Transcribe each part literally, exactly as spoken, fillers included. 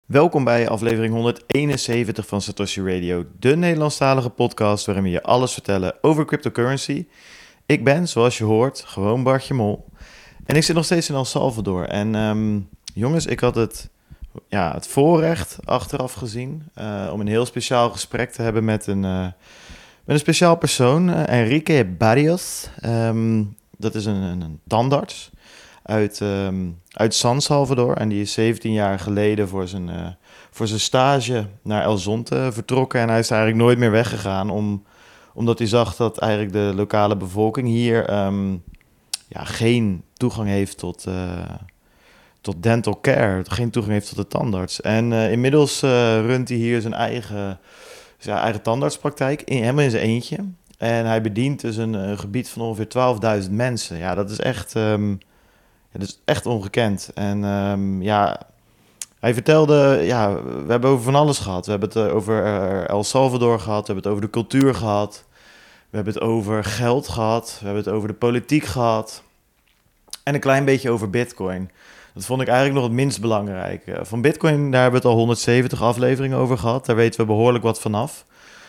Welkom bij aflevering honderdeenenzeventig van Satoshi Radio, de Nederlandstalige podcast waarin we je alles vertellen over cryptocurrency. Ik ben, zoals je hoort, gewoon Bartje Mol. En ik zit nog steeds in El Salvador. En um, jongens, ik had het, ja, het voorrecht achteraf gezien uh, om een heel speciaal gesprek te hebben met een, uh, met een speciaal persoon, uh, Enrique Barrios. Um, dat is een, een, een tandarts uit, um, uit San Salvador. En die is zeventien jaar geleden voor zijn, uh, voor zijn stage naar El Zonte vertrokken. En hij is eigenlijk nooit meer weggegaan, om, omdat hij zag dat eigenlijk de lokale bevolking hier um, ja, geen toegang heeft tot, uh, tot dental care, geen toegang heeft tot de tandarts. En uh, inmiddels uh, runt hij hier zijn eigen, zijn eigen tandartspraktijk, in, helemaal in zijn eentje. En hij bedient dus een, een gebied van ongeveer twaalfduizend mensen. Ja, dat is echt... Um, Ja, dat is echt ongekend. En um, ja, hij vertelde, ja, we hebben over van alles gehad. We hebben het over uh, El Salvador gehad, we hebben het over de cultuur gehad. We hebben het over geld gehad, we hebben het over de politiek gehad. En een klein beetje over Bitcoin. Dat vond ik eigenlijk nog het minst belangrijk. Uh, van Bitcoin, daar hebben we het al honderdzeventig afleveringen over gehad. Daar weten we behoorlijk wat vanaf.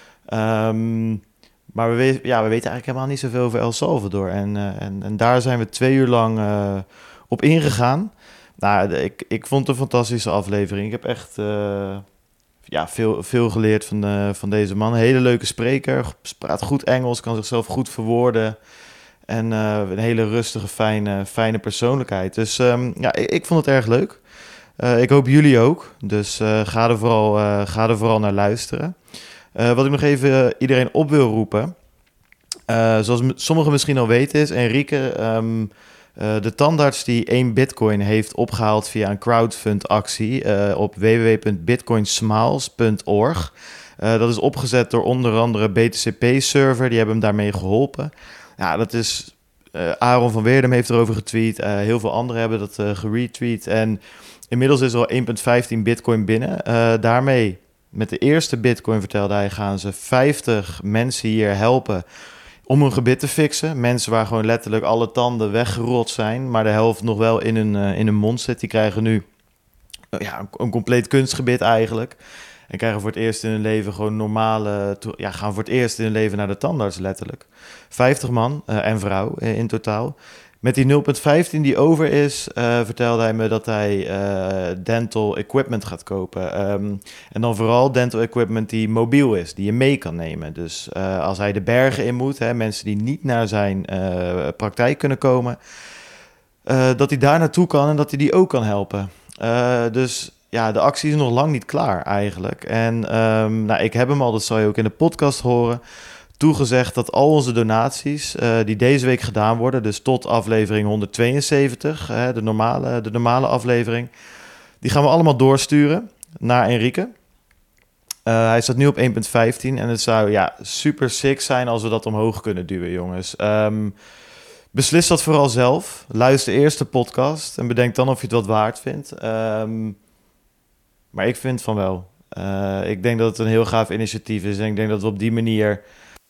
Um, maar we, we, ja, we weten eigenlijk helemaal niet zoveel over El Salvador. En, uh, en, en daar zijn we twee uur lang... Uh, op ingegaan. Nou, ik, ik vond het een fantastische aflevering. Ik heb echt uh, ja, veel, veel geleerd van, uh, van deze man. Een hele leuke spreker, praat goed Engels, kan zichzelf goed verwoorden. En uh, een hele rustige, fijne, fijne persoonlijkheid. Dus um, ja, ik, ik vond het erg leuk. Uh, ik hoop jullie ook. Dus uh, ga, er vooral, uh, ga er vooral naar luisteren. Uh, wat ik nog even iedereen op wil roepen. Uh, zoals m- sommigen misschien al weten is, Enrique... Um, Uh, de tandarts die één bitcoin heeft opgehaald via een crowdfund-actie uh, op w w w punt bitcoin smiles punt org. Uh, dat is opgezet door onder andere B T C P-server, die hebben hem daarmee geholpen. Ja, dat is... Uh, Aaron van Weerdem heeft erover getweet, uh, heel veel anderen hebben dat uh, geretweet. En inmiddels is er al één komma vijftien bitcoin binnen. Uh, daarmee, met de eerste bitcoin vertelde hij, gaan ze vijftig mensen hier helpen om hun gebit te fixen. Mensen waar gewoon letterlijk alle tanden weggerot zijn, maar de helft nog wel in hun, uh, in hun mond zit. Die krijgen nu uh, ja, een, een compleet kunstgebit eigenlijk. En krijgen voor het eerst in hun leven gewoon normale... To- ja, gaan voor het eerst in hun leven naar de tandarts letterlijk. vijftig man uh, en vrouw uh, in totaal. Met die nul komma vijftien die over is, uh, vertelde hij me dat hij uh, dental equipment gaat kopen. Um, en dan vooral dental equipment die mobiel is, die je mee kan nemen. Dus uh, als hij de bergen in moet, hè, mensen die niet naar zijn uh, praktijk kunnen komen, uh, dat hij daar naartoe kan en dat hij die ook kan helpen. Uh, dus ja, de actie is nog lang niet klaar eigenlijk. En um, nou, ik heb hem al, dat zal je ook in de podcast horen, toegezegd dat al onze donaties uh, die deze week gedaan worden, dus tot aflevering honderdtweeënzeventig, uh, de, normale, de normale aflevering, die gaan we allemaal doorsturen naar Enrique. Uh, hij staat nu op één komma vijftien en het zou ja, super sick zijn als we dat omhoog kunnen duwen, jongens. Um, beslis dat vooral zelf. Luister eerst de podcast en bedenk dan of je het wat waard vindt. Um, maar ik vind van wel. Uh, ik denk dat het een heel gaaf initiatief is en ik denk dat we op die manier...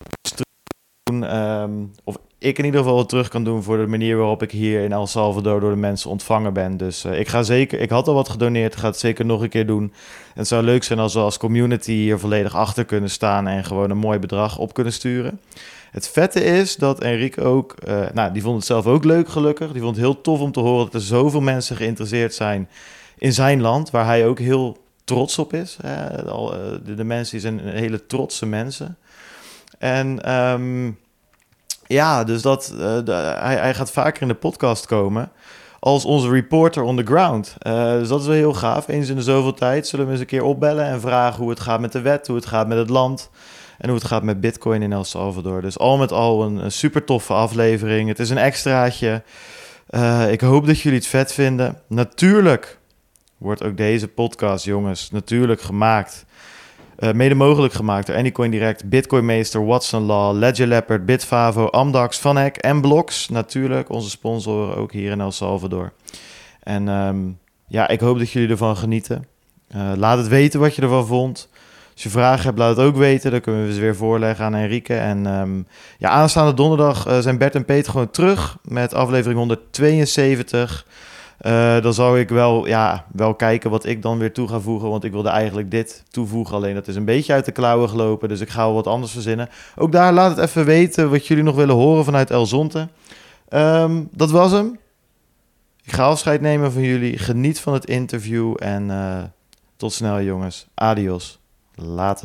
Doen, um, of ik in ieder geval wat terug kan doen voor de manier waarop ik hier in El Salvador door de mensen ontvangen ben. Dus uh, ik ga zeker, ik had al wat gedoneerd, ga het zeker nog een keer doen. En het zou leuk zijn als we als community hier volledig achter kunnen staan en gewoon een mooi bedrag op kunnen sturen. Het vette is dat Enrique ook, uh, nou die vond het zelf ook leuk gelukkig. Die vond het heel tof om te horen dat er zoveel mensen geïnteresseerd zijn in zijn land, waar hij ook heel trots op is. Hè? Al, uh, de, de mensen die zijn hele trotse mensen. En um, ja, dus dat, uh, de, hij, hij gaat vaker in de podcast komen als onze reporter on the ground. Uh, dus dat is wel heel gaaf. Eens in de zoveel tijd zullen we eens een keer opbellen en vragen hoe het gaat met de wet, hoe het gaat met het land en hoe het gaat met Bitcoin in El Salvador. Dus al met al een, een super toffe aflevering. Het is een extraatje. Uh, ik hoop dat jullie het vet vinden. Natuurlijk wordt ook deze podcast, jongens, natuurlijk gemaakt... Uh, mede mogelijk gemaakt door Anycoin Direct, Bitcoin Meester, Watson Law, Ledger Leopard, Bitfavo, Amdax, Vanek en Blocks. Natuurlijk, onze sponsoren ook hier in El Salvador. En um, ja, ik hoop dat jullie ervan genieten. Uh, laat het weten wat je ervan vond. Als je vragen hebt, laat het ook weten. Dan kunnen we ze weer voorleggen aan Enrique. En um, ja, aanstaande donderdag uh, zijn Bert en Peter gewoon terug met aflevering honderdtweeënzeventig. Uh, dan zou ik wel, ja, wel kijken wat ik dan weer toe ga voegen. Want ik wilde eigenlijk dit toevoegen. Alleen dat is een beetje uit de klauwen gelopen. Dus ik ga wel wat anders verzinnen. Ook daar laat het even weten wat jullie nog willen horen vanuit El Zonte. Um, dat was hem. Ik ga afscheid nemen van jullie. Geniet van het interview. En uh, tot snel jongens. Adios. Later.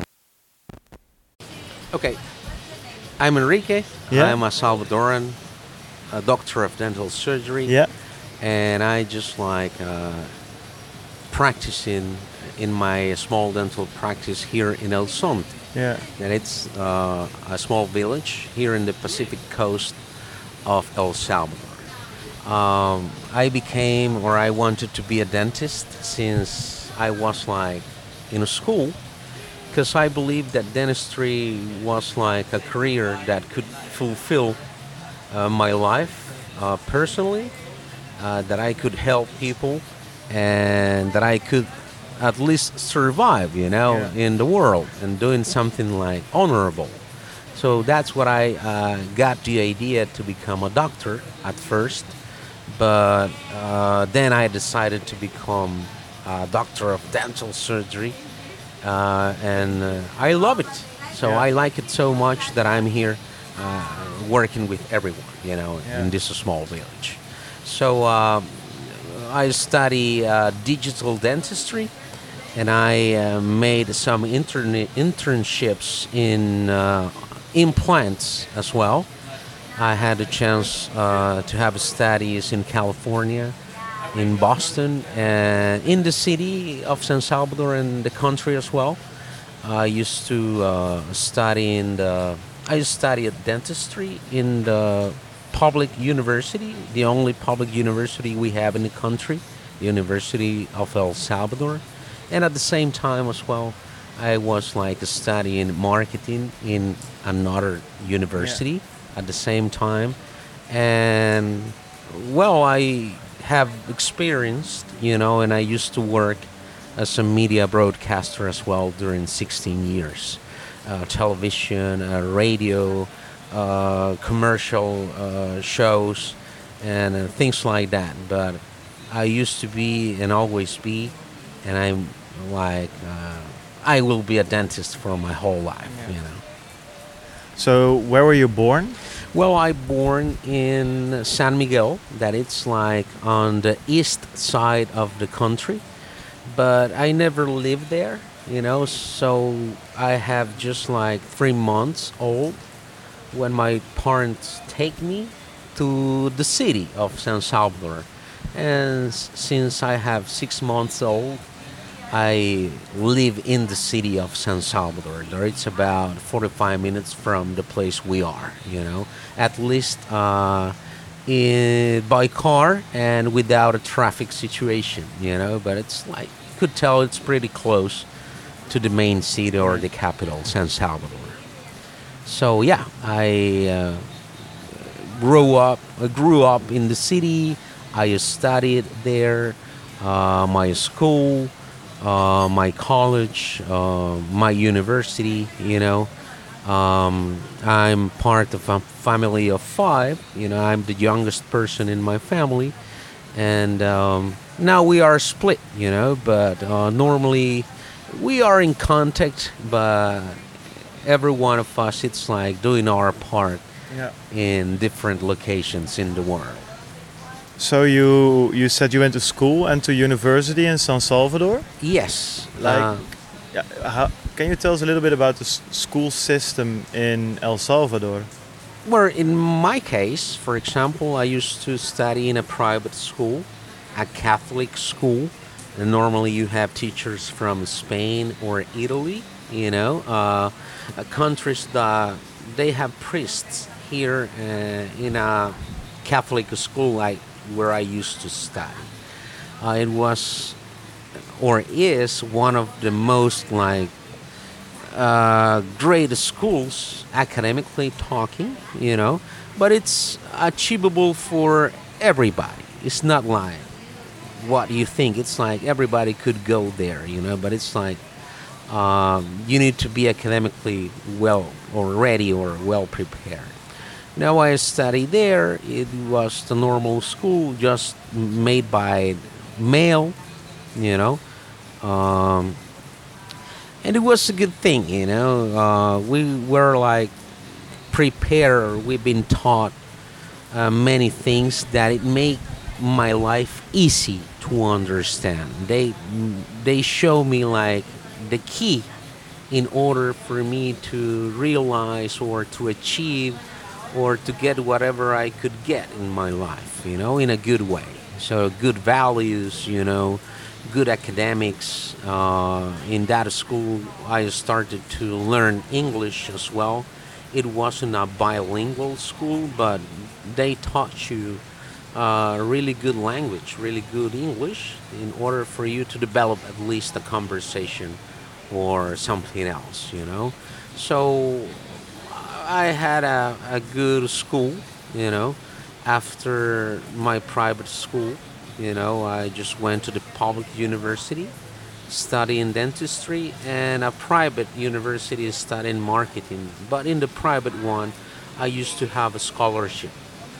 Okay. I'm Enrique. Yeah. I'm a Salvadoran, a doctor of dental surgery. Yeah. And I just like uh, practicing in my small dental practice here in El Zonte. Yeah. And it's uh, a small village here in the Pacific coast of El Salvador. Um, I became, or I wanted to be a dentist since I was like in a school, because I believed that dentistry was like a career that could fulfill uh, my life uh, personally. Uh, that I could help people and that I could at least survive, you know, yeah. in the world and doing something like honorable. So that's what I uh, got the idea to become a doctor at first. But uh, then I decided to become a doctor of dental surgery. Uh, and uh, I love it. So yeah. I like it so much that I'm here uh, working with everyone, you know, yeah. in this small village. So uh, I study uh, digital dentistry, and I uh, made some intern- internships in uh, implants as well. I had a chance uh, to have studies in California, in Boston, and in the city of San Salvador and the country as well. I used to uh, study in the, I studied dentistry in the public university, the only public university we have in the country, the University of El Salvador. And at the same time as well, I was like studying marketing in another university yeah. at the same time. And well, I have experienced, you know, and I used to work as a media broadcaster as well during sixteen years. Uh, television, uh, radio, Uh, commercial uh, shows and uh, things like that. But I used to be and always be, and I'm like, uh, I will be a dentist for my whole life, yeah. you know. So where were you born? Well, I born in San Miguel, that it's like on the east side of the country, but I never lived there, you know, so I have just like three months old when my parents take me to the city of San Salvador. And s- since I have six months old, I live in the city of San Salvador. There it's about forty-five minutes from the place we are, you know, at least uh, in, by car and without a traffic situation, you know, but it's like, you could tell it's pretty close to the main city or the capital, San Salvador. So yeah, I uh, grew up. I grew up in the city. I studied there, uh, my school, uh, my college, uh, my university. You know, um, I'm part of a family of five. You know, I'm the youngest person in my family, and um, now we are split. You know, but uh, normally we are in contact, but every one of us, it's like doing our part yeah. in different locations in the world. So you you said you went to school and to university in San Salvador? Yes. Like, uh, yeah, how, can you tell us a little bit about the s- school system in El Salvador? Well, in my case, for example, I used to study in a private school, a Catholic school. And normally you have teachers from Spain or Italy, you know, uh, countries that they have priests here uh, in a Catholic school like where I used to study. Uh, it was or is one of the most like uh, great schools academically talking, you know, but it's achievable for everybody. It's not like what you think. It's like everybody could go there, you know, but it's like um, you need to be academically well or ready or well prepared. Now I studied there. It was the normal school, just made by male, you know. Um, and it was a good thing, you know. Uh, we were like prepared. We've been taught uh, many things that it make my life easy to understand. They they show me like the key in order for me to realize or to achieve or to get whatever I could get in my life, you know, in a good way. So good values, you know, good academics. Uh, in that school, I started to learn English as well. It wasn't a bilingual school, but they taught you uh, really good language, really good English, in order for you to develop at least a conversation or something else, you know. So I had a, a good school, you know. After my private school, you know, I just went to the public university studying dentistry and a private university studying marketing. But in the private one, I used to have a scholarship.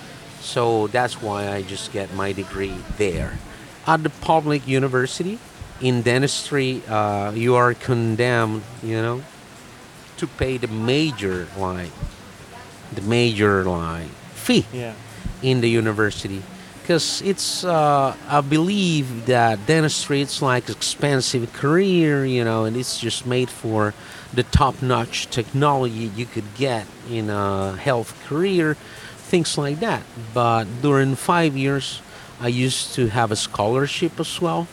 So that's why I just get my degree there. At the public university, in dentistry, uh, you are condemned, you know, to pay the major like the major like fee Yeah. in the university because it's uh, I believe that dentistry it's like expensive career, you know, and it's just made for the top-notch technology you could get in a health career, things like that. But during five years, I used to have a scholarship as well.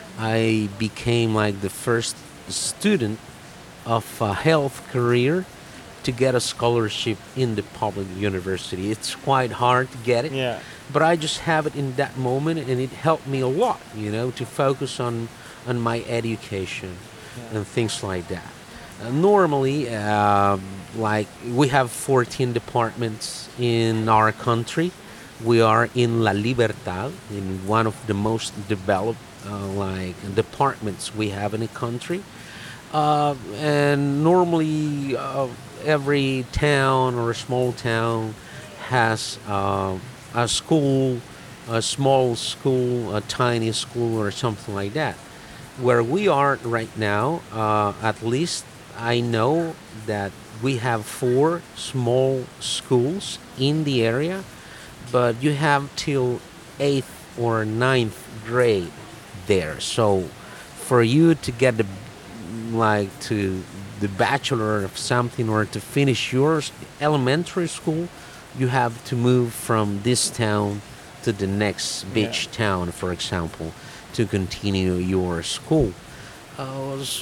I became like the first student of a health career to get a scholarship in the public university. It's quite hard to get it, Yeah. but I just have it in that moment, and it helped me a lot, you know, to focus on on my education and things like that. Uh, normally, um, like we have fourteen departments in our country. We are in La Libertad, in one of the most developed uh, like departments we have in the country. Uh, and normally, uh, every town or a small town has uh, a school, a small school, a tiny school, or something like that. Where we are right now, uh, at least I know that we have four small schools in the area, but you have till eighth or ninth grade there. So for you to get the like to the bachelor of something or to finish your elementary school, you have to move from this town to the next beach Yeah. town, for example, to continue your school. Uh, s-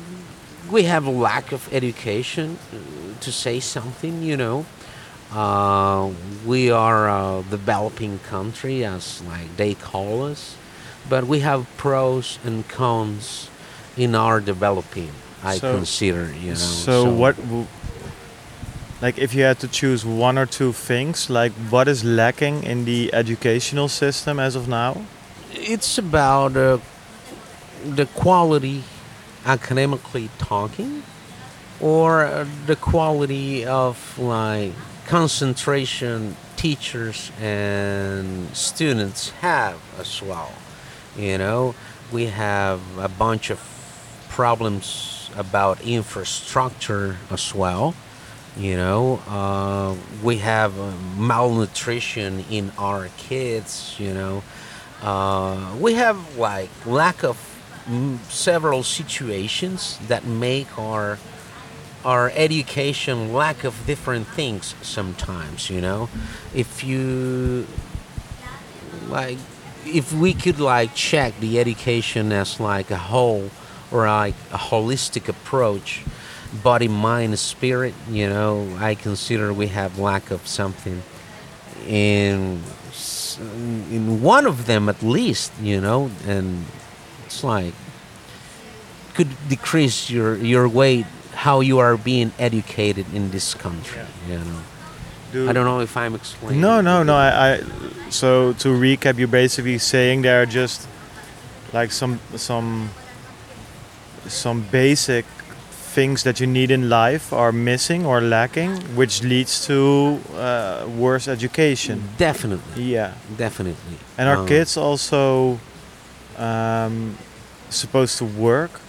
we have a lack of education, uh, to say something, you know. Uh, we are a developing country, as like they call us, but we have pros and cons in our developing. I So, consider, you know. so what, w- like, if you had to choose one or two things, like, what is lacking in the educational system as of now? It's about uh, the quality academically talking, or uh, the quality of like concentration teachers and students have as well. You know, we have a bunch of problems about infrastructure as well. You know, uh, we have uh, malnutrition in our kids. You know, uh, we have like lack of mm, several situations that make our our education lack of different things sometimes. You know, if you like if we could like check the education as like a whole or like a holistic approach, body, mind, spirit, you know, I consider we have lack of something in s- in one of them at least, you know, and it's like could decrease your your weight how you are being educated in this country, you know. I don't know if I'm explaining. No, no, no. I, I so to recap, you're basically saying there are just like some some some basic things that you need in life are missing or lacking, which leads to uh, worse education. Definitely, Yeah. definitely. And are Um, kids also um, supposed to work?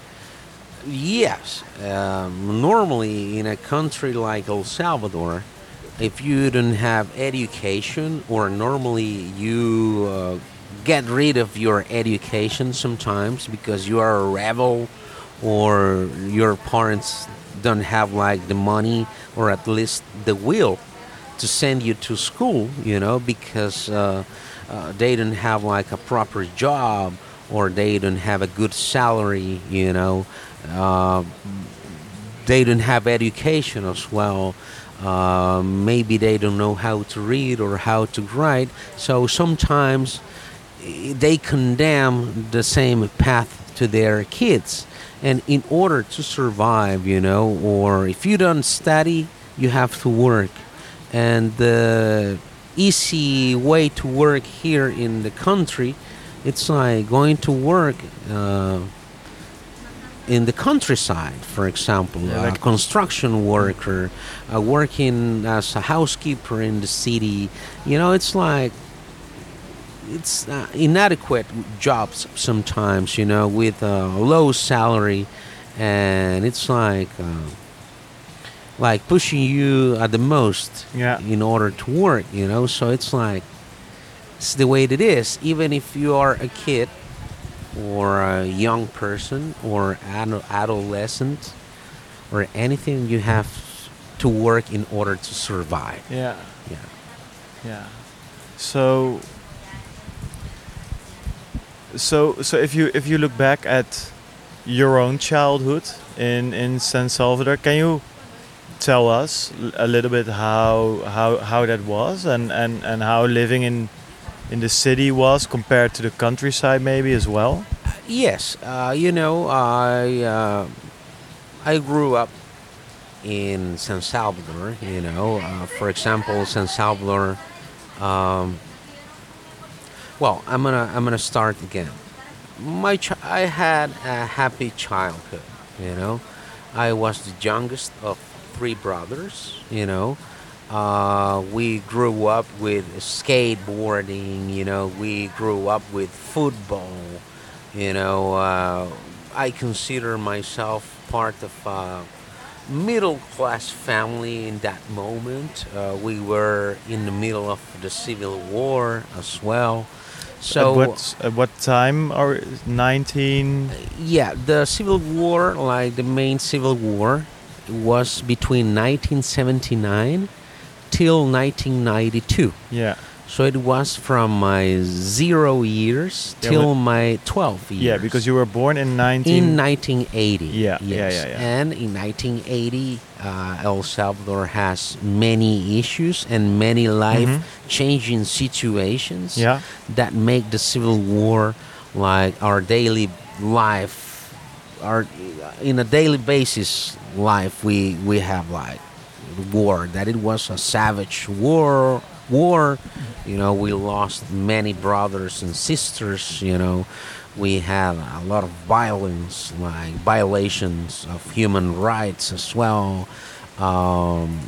Yes. Um, normally, in a country like El Salvador, if you don't have education, or normally you uh, get rid of your education sometimes because you are a rebel, or your parents don't have like the money or at least the will to send you to school, you know, because uh, uh, they don't have like a proper job, or they don't have a good salary, you know. Uh, they don't have education as well. Uh, maybe they don't know how to read or how to write. So sometimes eh, they condemn the same path to their kids. And in order to survive, you know, or if you don't study, you have to work. And the easy way to work here in the country, it's like going to work uh, in the countryside, for example, Yeah, a like- construction worker, uh, working as a housekeeper in the city. You know, it's like it's uh, inadequate jobs sometimes. You know, with a low salary, and it's like uh, like pushing you at the most Yeah. in order to work. You know, so it's like it's the way it is. Even if you are a kid or a young person or an adolescent or anything, you have to work in order to survive. Yeah. Yeah. Yeah. So so so if you if you look back at your own childhood in in San Salvador, can you tell us l- a little bit how how how that was, and and and how living in in the city was compared to the countryside maybe as well? Yes, uh, you know, I uh, I grew up in San Salvador. You know, uh, for example, San Salvador. Um, well, I'm gonna I'm gonna start again. My ch- I had a happy childhood. You know, I was the youngest of three brothers. You know, uh, we grew up with skateboarding. You know, we grew up with football. You know, uh, I consider myself part of a middle class family in that moment. Uh, we were in the middle of the Civil War as well. So, at what at what time? Or nineteen? yeah, the Civil War, like the main Civil War, was between nineteen seventy-nine till nineteen ninety-two. Yeah. So it was from my zero years Yeah, till well- my twelve years. Yeah, because you were born in nineteen. in nineteen eighty. Yeah, yes. yeah, yeah, yeah. And in nineteen eighty, uh, El Salvador has many issues and many life-changing situations Yeah. that make the Civil War like our daily life, our in a daily basis life. We we have like war, that it was a savage war. War, you know, we lost many brothers and sisters. You know, we had a lot of violence, like violations of human rights as well. Um,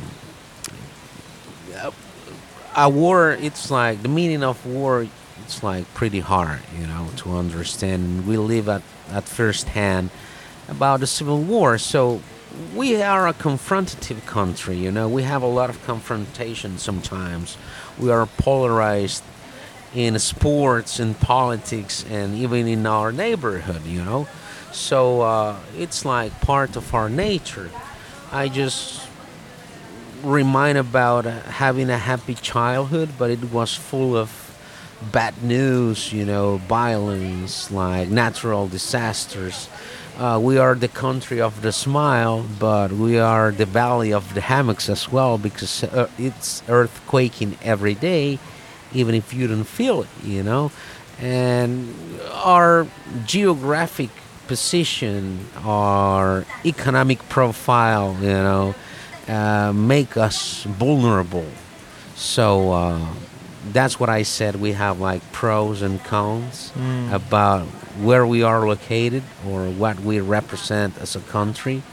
a war, it's like the meaning of war. It's like pretty hard, you know, to understand. We live at at first hand about the Civil War, so we are a confrontative country. You know, we have a lot of confrontation sometimes. We are polarized in sports and politics and even in our neighborhood. You know, so uh, it's like part of our nature. I just remind about uh, having a happy childhood, but it was full of bad news, you know, violence, like natural disasters. Uh, we are the country of the smile, but we are the valley of the hammocks as well, because uh, it's earthquaking every day, even if you don't feel it, you know. And our geographic position, our economic profile, you know, uh, make us vulnerable. So uh, that's what I said. We have like pros and cons Mm. about where we are located or what we represent as a country.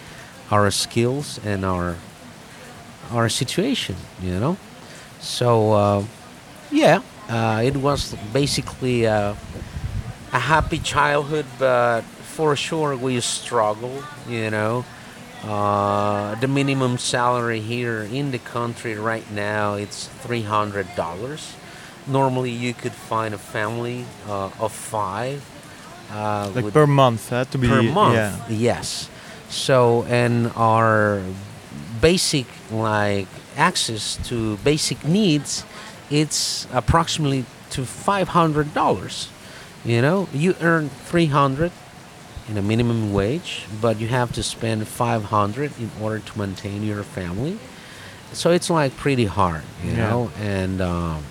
our skills and our our situation, you know. So uh, yeah, uh, it was basically uh, a happy childhood, but for sure we struggle, you know. Uh, the minimum salary here in the country right now it's three hundred dollars. Normally, you could find a family uh, of five uh, Like with per month, huh? To be per month. yeah. Yes. So, and our basic like access to basic needs, it's approximately to five hundred dollars. You know, you earn three hundred in a minimum wage, but you have to spend five hundred in order to maintain your family. So it's like pretty hard, you Yeah. know, and. Um,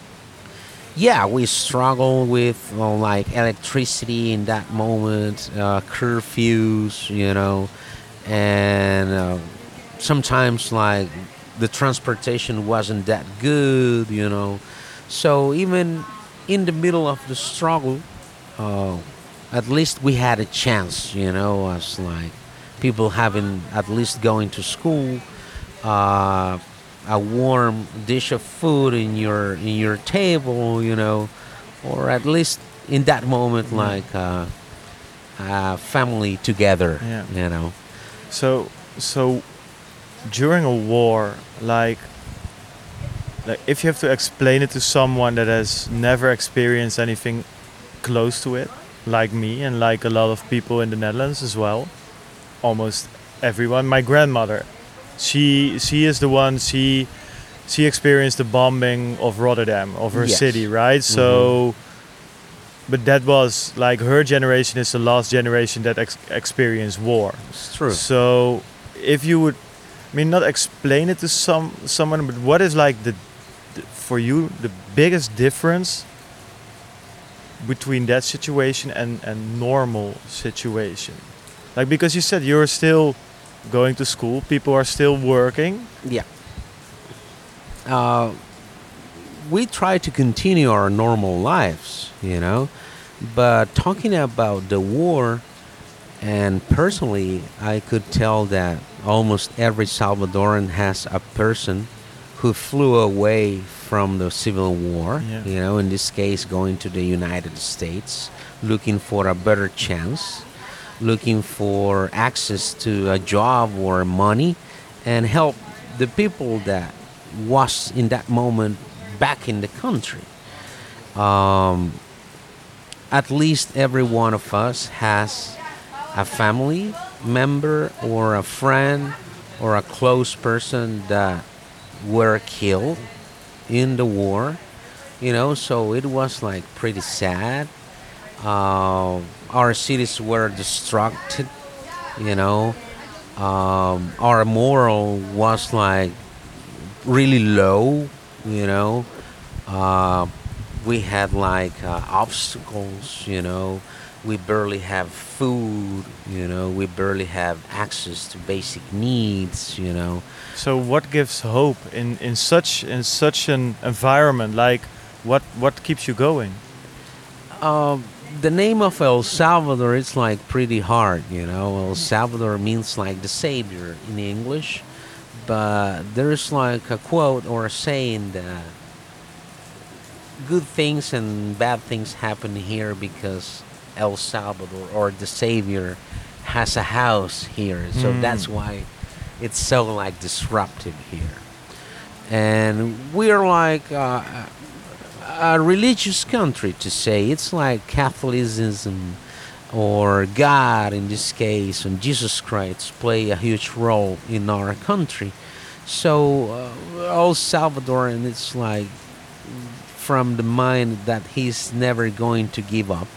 yeah, we struggle with uh, like electricity in that moment, uh, curfews, you know, and uh, sometimes like the transportation wasn't that good, you know. So even in the middle of the struggle, uh, at least we had a chance, you know, as like people having at least going to school. Uh, a warm dish of food in your in your table, you know, or at least in that moment, Yeah. like uh, a family together, Yeah. you know. So so during a war, like like if you have to explain it to someone that has never experienced anything close to it, like me and like a lot of people in the Netherlands as well, almost everyone. My grandmother, she she is the one she she experienced the bombing of Rotterdam, of her Yes. city, right? So, but that was like her generation is the last generation that ex- experienced war. It's true. So, if you would, I mean, not explain it to some someone, but what is like the, the for you the biggest difference between that situation and and normal situation? Like because you said you're still going to school, people are still working. Yeah. Uh, we try to continue our normal lives, you know, but talking about the war, and personally, I could tell that almost every Salvadoran has a person who flew away from the civil war, Yeah. you know, in this case, going to the United States, looking for a better chance, looking for access to a job or money, and help the people that was in that moment back in the country. Um, at least every one of us has a family member or a friend or a close person that were killed in the war, you know, so it was like pretty sad. Uh, our cities were destructed, you know. Um, our moral was like really low, you know. Uh, we had like uh, obstacles, you know. We barely have food, you know. We barely have access to basic needs, you know. So what gives hope in, in such in such an environment? Like what what keeps you going? Um, the name of El Salvador is like pretty hard, you know. El Salvador means like the savior in English, but there's like a quote or a saying that good things and bad things happen here because El Salvador or the savior has a house here. So Mm. that's why it's so like disruptive here. And we're like uh, a religious country to say. It's like Catholicism or God in this case and Jesus Christ play a huge role in our country. So uh, El Salvadoran, it's like from the mind that he's never going to give up.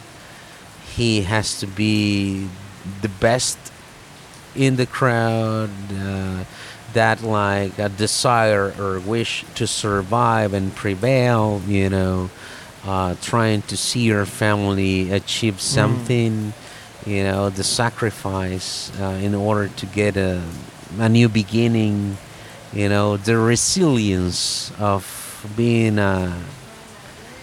He has to be the best in the crowd, uh, that like a desire or wish to survive and prevail, you know, uh, trying to see your family achieve something, you know, the sacrifice uh, in order to get a, a new beginning, you know, the resilience of being a,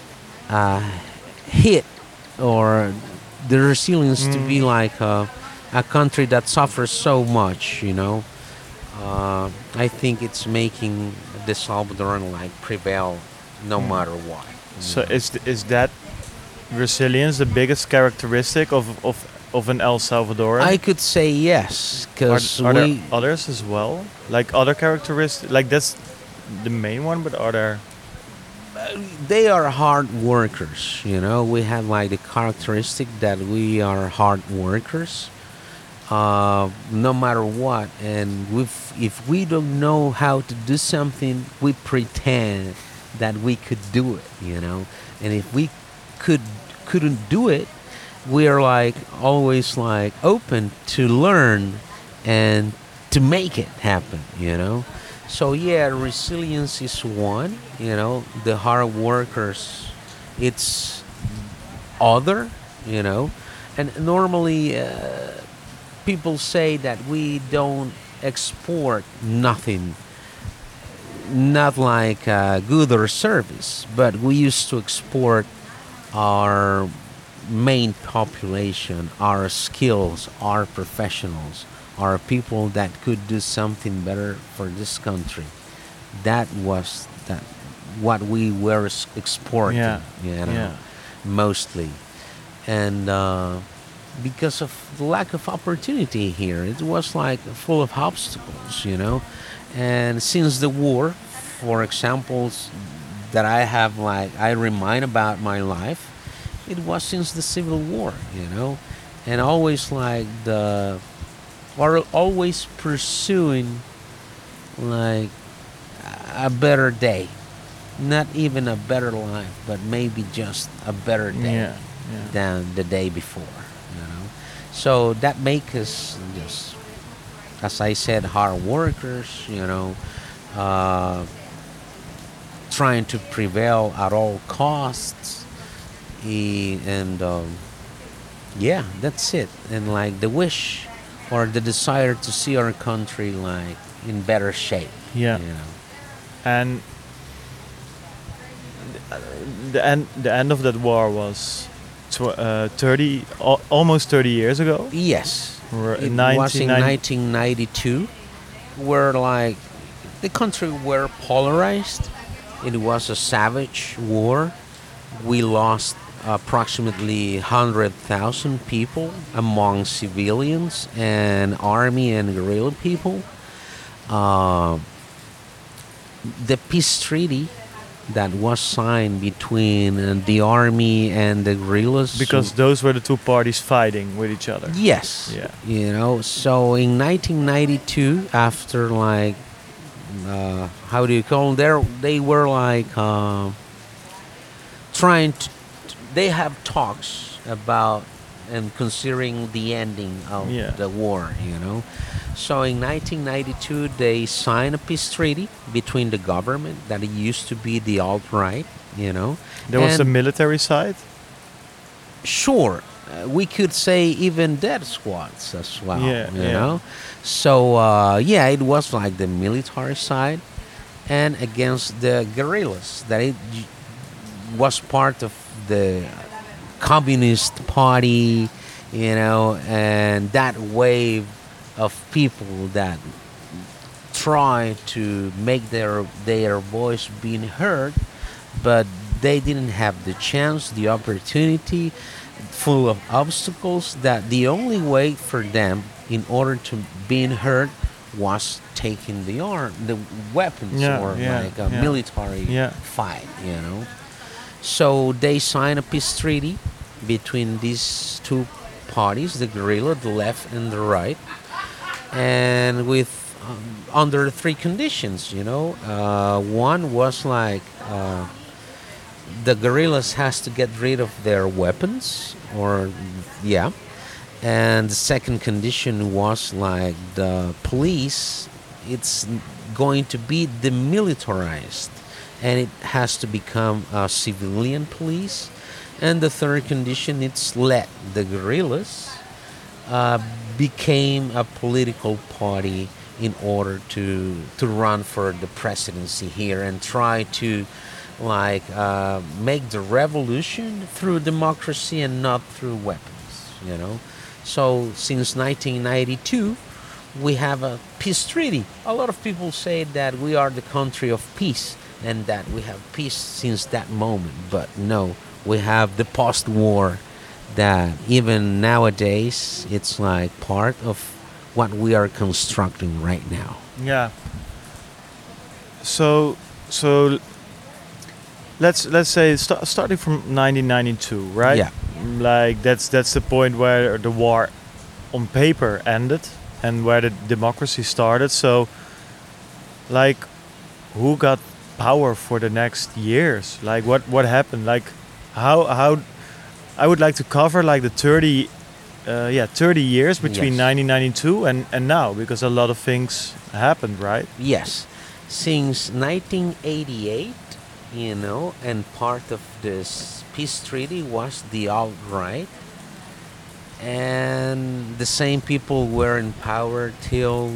a hit or the resilience to be Mm. like uh, a country that suffers so much, you know. Uh, I think it's making the Salvadoran like prevail no Mm. matter what. you So know. is th- is that resilience the biggest characteristic of of, of an El Salvadoran? I could say yes, Are, because are we there others as well? Like other characteristics? Like that's the main one, but are there? they are hard workers. You know, we have like the characteristic that we are hard workers, uh, no matter what. And if if we don't know how to do something, we pretend that we could do it. You know, and if we could couldn't do it, we are like always like open to learn and to make it happen. You know. So yeah, resilience is one. You know, the hard workers, it's other. You know, and normally uh, people say that we don't export nothing, not like uh, good or service, but we used to export our main population, our skills, our professionals, our people that could do something better for this country. That was that what we were s- exporting, Yeah, you know, yeah, mostly, and uh, because of the lack of opportunity here, it was like full of obstacles, you know, and since the war, for examples that I have, like I remind about my life, it was since the Civil War, you know, and always like the or always pursuing like a better day, not even a better life, but maybe just a better day yeah, yeah. than the day before, you know. So that makes us just, as I said, hard workers, you know, uh, trying to prevail at all costs, eh, and um, yeah, that's it. And like the wish or the desire to see our country like in better shape, Yeah. you know. And the end the end of that war was tw- uh, thirty al- almost thirty years ago. Yes, Or it in was in nineteen ninety. nineteen ninety-two, where like the country were polarized. It was a savage war. We lost approximately one hundred thousand people among civilians and army and guerrilla people. Uh, the peace treaty that was signed between uh, the army and the guerrillas. Because those were the two parties fighting with each other. Yes. Yeah. You know, so in nineteen ninety-two, after like, uh, how do you call them? They were like uh, trying to, they have talks about and considering the ending of Yeah. the war, you know. So in nineteen ninety-two, they signed a peace treaty between the government that it used to be the alt-right, you know. There was the and military side. sure, uh, we could say even death squads as well, Yeah, you yeah. know. So uh, yeah, it was like the military side, and against the guerrillas that it j- was part of the communist party, you know, and that wave of people that try to make their their voice being heard, but they didn't have the chance, the opportunity, full of obstacles. That the only way for them, in order to being heard, was taking the arm, the weapons, Yeah, or yeah, like a yeah. military Yeah. fight, you know. So they signed a peace treaty between these two parties, the guerrilla, the left and the right, and with um, under three conditions, you know. Uh, one was like uh, the guerrillas has to get rid of their weapons, or yeah, and the second condition was like the police, it's going to be demilitarized, and it has to become a civilian police. And the third condition, it's let the guerrillas uh, became a political party in order to to run for the presidency here and try to like uh, make the revolution through democracy and not through weapons, you know. So since nineteen ninety-two, we have a peace treaty. A lot of people say that we are the country of peace and that we have peace since that moment. But no, we have the post-war that even nowadays it's like part of what we are constructing right now. Yeah. So so let's let's say st- starting from nineteen ninety-two, right? Yeah. Like that's that's the point where the war on paper ended and where the democracy started. So like who got power for the next years? Like what what happened? Like how how I would like to cover like the thirty uh, yeah thirty years between Yes. nineteen ninety-two and and now, because a lot of things happened, right? Yes, since nineteen eighty-eight, you know, and part of this peace treaty was the alt-right, and the same people were in power till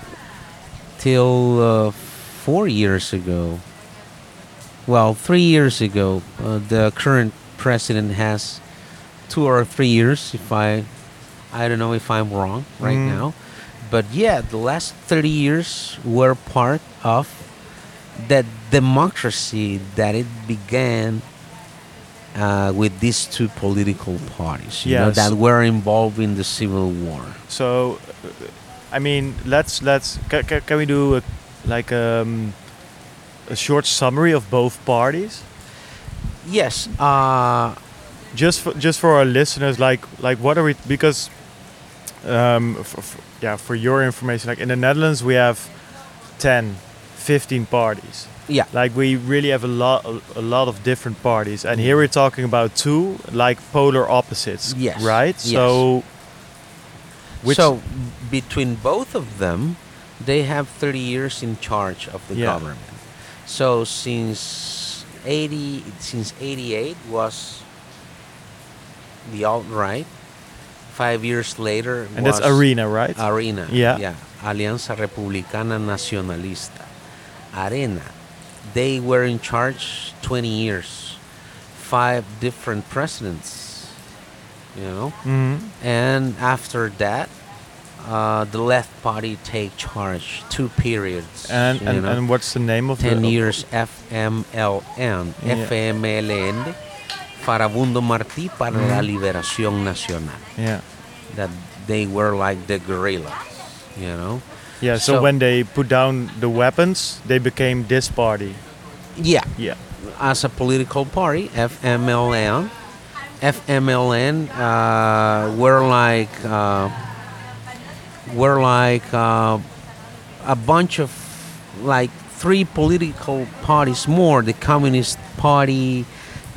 till uh, four years ago. Well, three years ago, uh, the current president has two or three years. If I, I don't know if I'm wrong right Mm. now, but yeah, the last thirty years were part of the democracy that it began uh, with these two political parties, you know, Yes. that were involved in the civil war. So, uh, I mean, let's let's ca- ca- can we do a, like um, a short summary of both parties, Yes, uh, just for just for our listeners? Like like what are we? Because um, f- f- yeah, for your information, like in the Netherlands we have ten, fifteen parties. yeah, Like we really have a lot a, a lot of different parties, and here we're talking about two like polar opposites. Yes, Right. yes. So. Which, so between both of them, they have thirty years in charge of the Yeah. government. So since eighty, since eighty-eight was the alt-right. Five years later and was that's Arena, right? Arena. Yeah. Yeah. Alianza Republicana Nacionalista. Arena. They were in charge twenty years. Five different presidents. You know? Mhm. And after that, uh, the left party take charge two periods. And you and, know? and what's the name of ten the? years F M L N. Yeah. F M L N. Farabundo Martí para la Mhm. Liberación Nacional. Yeah. That they were like the guerrillas, you know? Yeah. So, So- when they put down the weapons, they became this party. Yeah, Yeah. as a political party, F M L N. F M L N uh, were like uh, were like uh, a bunch of like three political parties more. The Communist Party.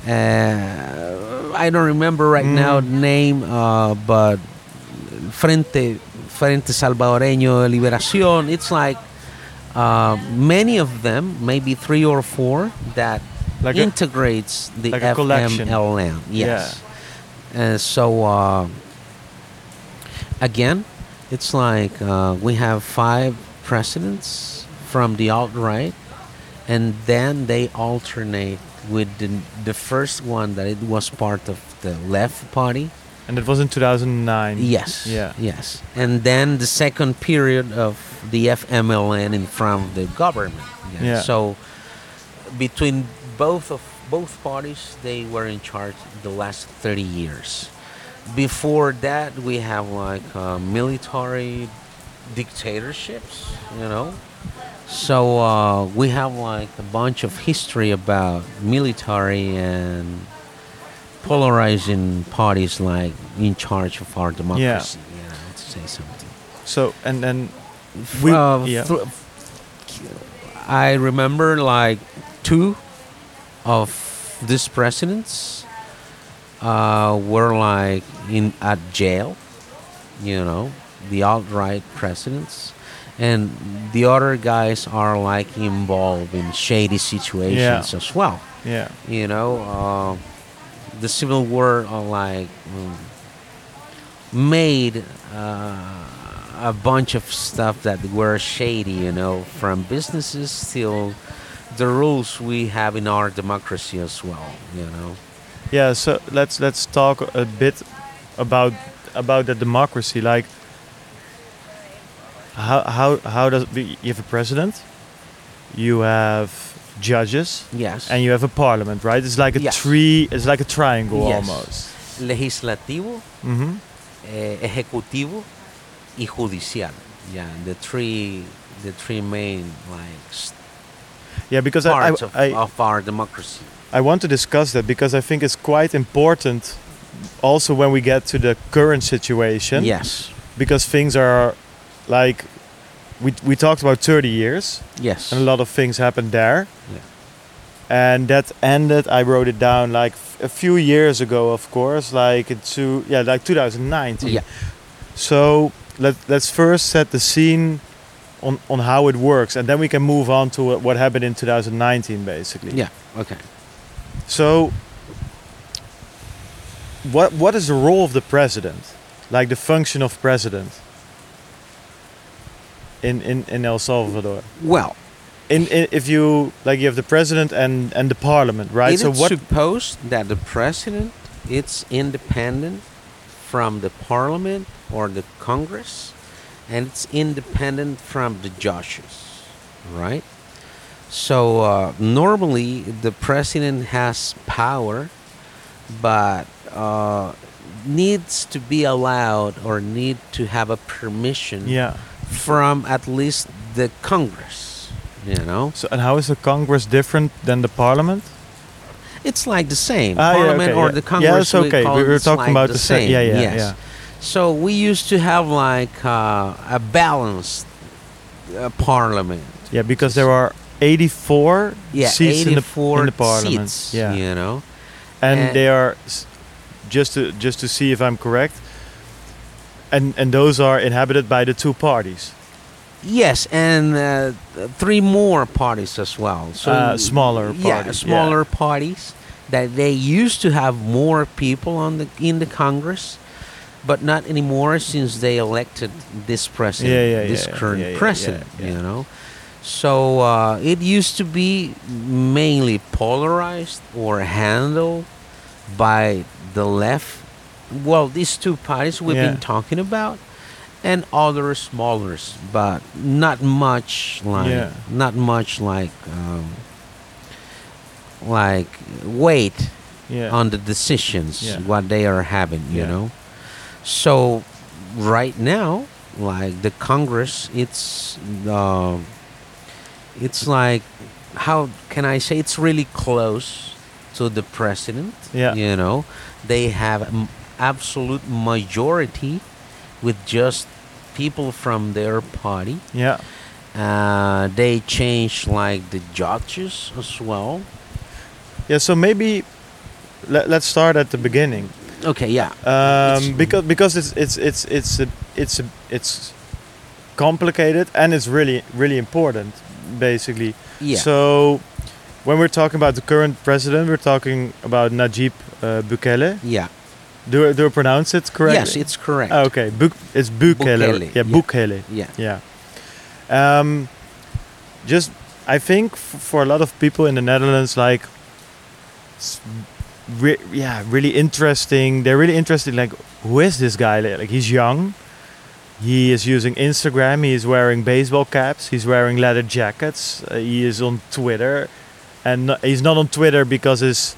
Uh, I don't remember right now Mm. the name, uh, but Frente Frente Salvadoreño de Liberación. It's like uh, many of them, maybe three or four, that Like a- integrates the like a collection. F M L N. Yes. And so uh, again, it's like uh, we have five presidents from the alt-right, and then they alternate with the, the first one that it was part of the left party. And it was in two thousand nine. Yes. Yeah. Yes. And then the second period of the F M L N in front of the government. Yeah. So between both of both parties, they were in charge the last thirty years. Before that, we have like uh, military dictatorships, you know. So uh, we have like a bunch of history about military and polarizing parties like in charge of our democracy. You know, to say something. So and then we Uh, yeah. thr- I remember like two of these presidents uh, were like in at jail, you know, the alt-right presidents, and the other guys are like involved in shady situations as well. yeah. You know, uh, the Civil War uh, like mm, made uh, a bunch of stuff that were shady, you know, from businesses till the rules we have in our democracy as well, you know. Yeah, so let's let's talk a bit about about the democracy. Like, how how how does you have a president, you have judges, Yes. and you have a parliament, right? It's like a Yes. tree. It's like a triangle Yes. almost. Legislativo, Hmm. eh, ejecutivo, y judicial. Yeah, the three, the three main like s- Yeah, because I, parts I, of, I of our democracy. I want to discuss that because I think it's quite important also when we get to the current situation. Yes. Because things are like we we talked about thirty years Yes. and a lot of things happened there. Yeah. And that ended, I wrote it down like f- a few years ago, of course, like into yeah, like two thousand nineteen. Yeah. So let let's first set the scene on on how it works, and then we can move on to what- what happened in two thousand nineteen, basically. Yeah. Okay. So, what what is the role of the president? Like the function of president in in, in El Salvador? Well, In, in if you like, you have the president and and the parliament, right? it so is what? supposed that the president it's independent from the parliament or the Congress, and it's independent from the judges, right? So uh, normally the president has power, but uh, needs to be allowed or need to have a permission Yeah. from at least the Congress. You know, So and how is the Congress different than the parliament? it's like the same Ah, yeah, parliament okay, or yeah. the Yeah, Congress. that's we okay. call We it, were it's talking like about the the sa- same. yeah, yeah, yes. yeah. So we used to have like uh, a balanced uh, parliament. Yeah, because there are eighty-four Yeah, seats in the, eighty-four in the parliament. seats. Yeah, You know. and and- they are s- just to just to see if I'm correct. And and those are inhabited by the two parties. Yes, and uh, th- three more parties as well. So Uh, smaller yeah, parties, smaller parties that they used to have more people on the in the Congress, but not anymore since they elected this president, Yeah, yeah, this yeah, current yeah, yeah, president. yeah, yeah. You know, so uh, it used to be mainly polarized or handled by the left. Well, these two parties we've Yeah. been talking about, and other smaller, but not much like Yeah. not much like um, like weight Yeah. on the decisions Yeah. what they are having, you Yeah. know. So right now, like the Congress, it's uh, it's like how can I say it's really close to the president. Yeah. You know, they have m- absolute majority with just people from their party. Yeah. Uh, they change like the judges as well. Yeah. So maybe let, let's start at the beginning. Okay, yeah. Um, It's- because because it's it's it's it's a, it's a, it's complicated and it's really really important, basically. Yeah. So when we're talking about the current president, we're talking about Najib uh, Bukele. yeah. Do I- do I pronounce it correctly? Yes, it's correct. Ah, okay. Buk it's Bukele. Bukele, Yeah, yeah. Bukele. Yeah. Yeah. Um, just I think f- for a lot of people in the Netherlands, like, s- re- yeah, really interesting. They're really interested. Like, who is this guy? Like, he's young. He is using Instagram. He is wearing baseball caps. He's wearing leather jackets. Uh, he is on Twitter, and no, he's not on Twitter because his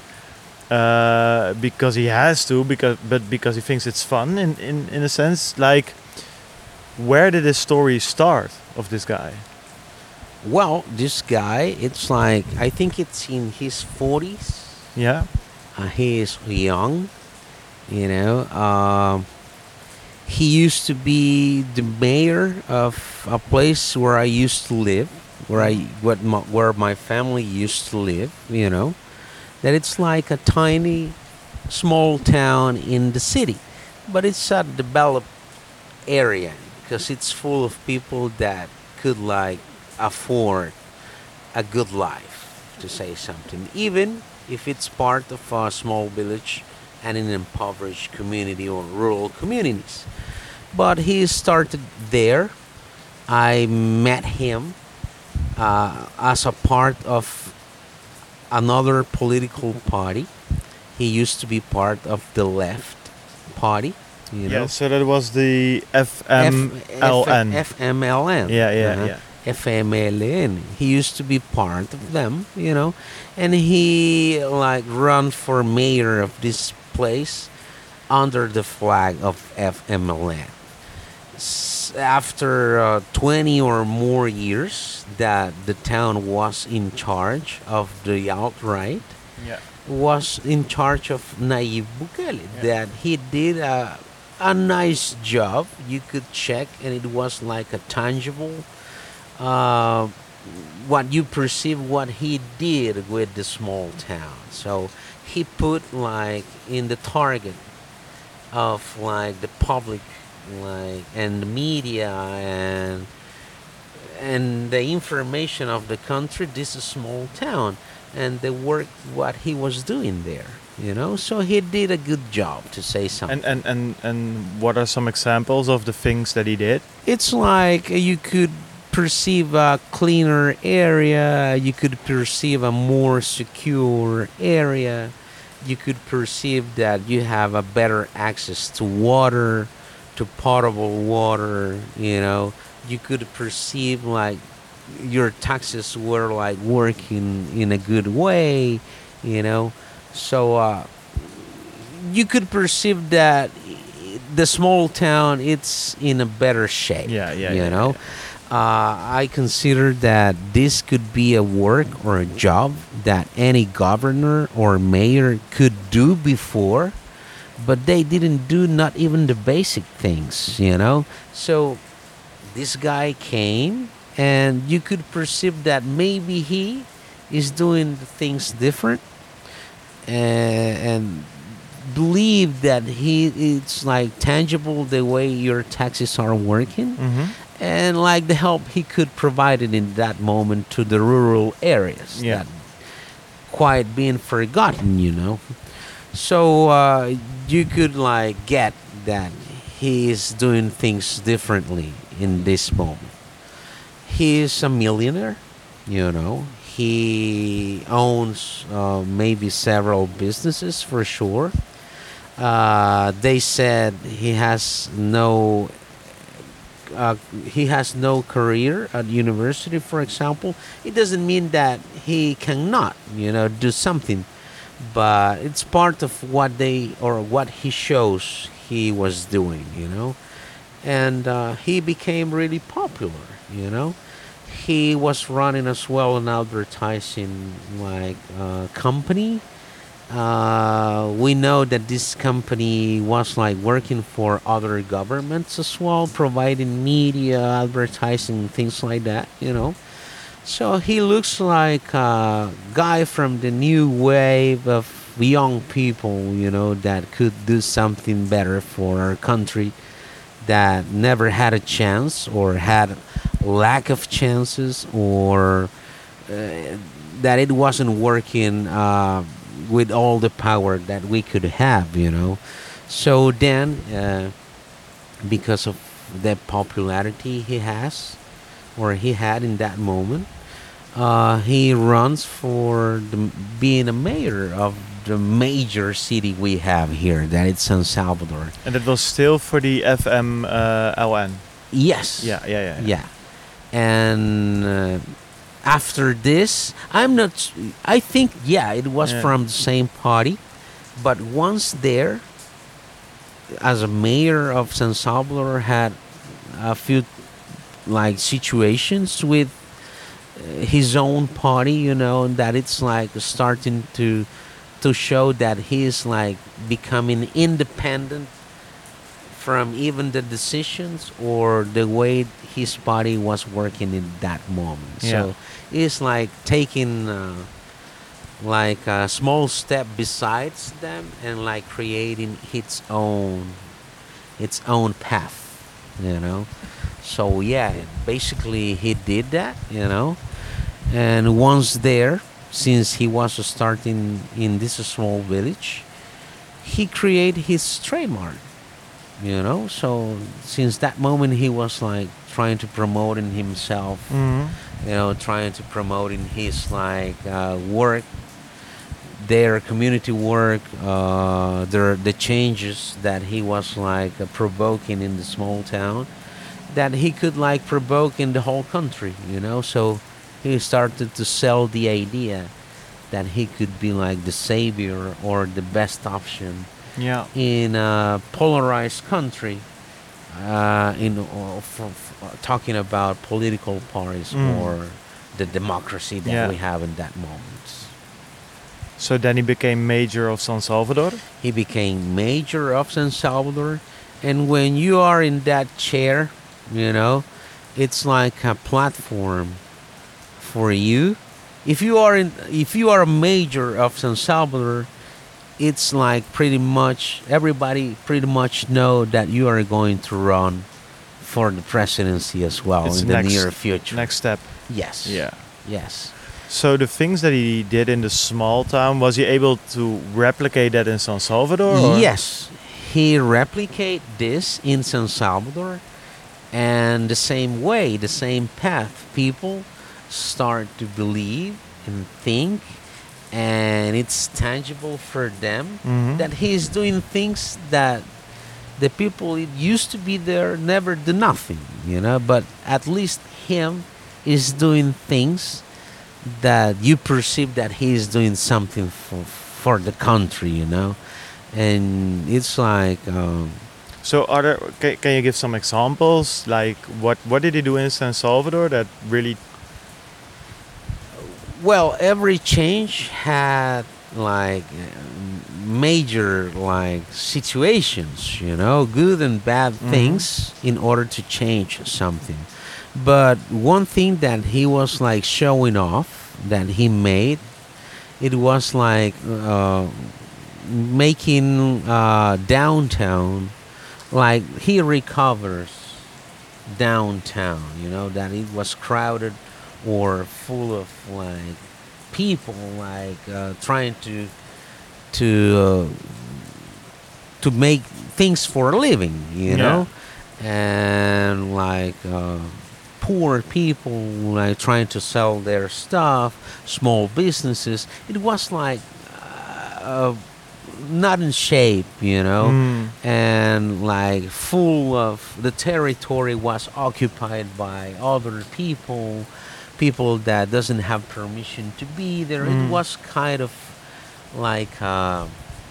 uh, because he has to, because but because he thinks it's fun. In in in a sense, like, where did this story start of this guy? Well, this guy, it's like I think it's in his forties. Yeah, Uh, he is young, you know. Um, he used to be the mayor of a place where I used to live, where I what my, where my family used to live. You know, that it's like a tiny, small town in the city, but it's a developed area because it's full of people that could like afford a good life, to say something, even if it's part of a small village and an impoverished community or rural communities. But he started there. I met him uh, as a part of another political party. He used to be part of the left party. You Yeah, know, so that was the F M L N. F M L N. Yeah, yeah, uh-huh. yeah. F M L N. He used to be part of them, you know, and he like run for mayor of this place under the flag of F M L N. S- After uh, twenty or more years that the town was in charge of the alt-right, Yeah. was in charge of Nayib Bukele, Yeah. that he did a, a nice job. You could check, and it was like a tangible, uh, what you perceive what he did with the small town. So he put like in the target of like the public, like and the media and and the information of the country. This is a small town, and the work what he was doing there, you know. So he did a good job, to say something. And, and, and, and what are some examples of the things that he did? It's like uh, you could perceive a cleaner area, you could perceive a more secure area, you could perceive that you have a better access to water, to potable water, you know. You could perceive like your taxes were like working in a good way, you know. So uh, you could perceive that the small town it's in a better shape. Yeah, yeah, you yeah, know. Uh, I consider that this could be a work or a job that any governor or mayor could do before, but they didn't do not even the basic things, you know. So this guy came, and you could perceive that maybe he is doing things different, and, and believe that he it's like tangible the way your taxes are working, Mm-hmm. and like the help he could provide it in that moment to the rural areas Yeah. that quite being forgotten, you know. So uh, you could like get that he is doing things differently in this moment. He is a millionaire, you know. He owns uh, maybe several businesses for sure. Uh, they said he has no uh, he has no career at university, for example. It doesn't mean that he cannot, you know, do something, but it's part of what they or what he shows he was doing, you know. And uh, he became really popular, you know. He was running as well an advertising like uh, company. Uh, we know that this company was like working for other governments as well, providing media, advertising, things like that, you know. So he looks like a guy from the new wave of young people, you know, that could do something better for our country, that never had a chance or had lack of chances, or uh, that it wasn't working uh, with all the power that we could have, you know. So then, uh, because of the popularity he has, or he had in that moment, uh, he runs for the, being a mayor of the major city we have here, that it's San Salvador. And it was still for the F M L N. Yes. Yeah, yeah, yeah. Yeah. And uh, after this, I'm not. s- I think yeah, it was Yeah. from the same party, but once there, as a mayor of San Salvador, had a few like situations with uh, his own party, you know, and that it's like starting to to show that he is like becoming independent from even the decisions or the way his body was working in that moment. Yeah. So it's like taking uh, like a small step besides them and like creating its own its own path, you know. So yeah, basically he did that, you know. And once there, since he was starting in this small village, he created his trademark, you know. So since that moment he was like trying to promoting himself, Mhm. you know, trying to promoting his like uh, work their community work, uh, their the changes that he was like uh, provoking in the small town, that he could like provoke in the whole country, you know. So he started to sell the idea that he could be like the savior or the best option Yeah. in a polarized country. Uh, in uh, for, for talking about political parties Mm. or the democracy that Yeah. we have in that moment. So then he became mayor of San Salvador. He became mayor of San Salvador, and when you are in that chair, you know, it's like a platform for you. If you are in, if you are a mayor of San Salvador, it's like pretty much everybody pretty much know that you are going to run for the presidency as well It's in the next- near future. Next step. Yes. Yeah. Yes. So the things that he did in the small town, was he able to replicate that in San Salvador? Or? Yes, he replicate this in San Salvador, and the same way, the same path. People start to believe and think, and it's tangible for them Mhm. that he is doing things that the people it used to be there never do nothing, you know. But at least him is doing things that you perceive that he is doing something for for the country, you know. And it's like um, So are there, can, can you give some examples? Like what, what did he do in San Salvador that really... well, every change had like uh, major like situations, you know, good and bad Mhm. things in order to change something. But one thing that he was like showing off that he made, it was like uh, making uh, downtown, like he recovers downtown, you know, that it was crowded or full of like people like uh, trying to to uh, to make things for a living, you Yeah. know, and like uh, poor people like trying to sell their stuff, small businesses. It was like uh, not in shape, you know, Mm. and like full of the territory was occupied by other people, people that doesn't have permission to be there. Mm. It was kind of like uh,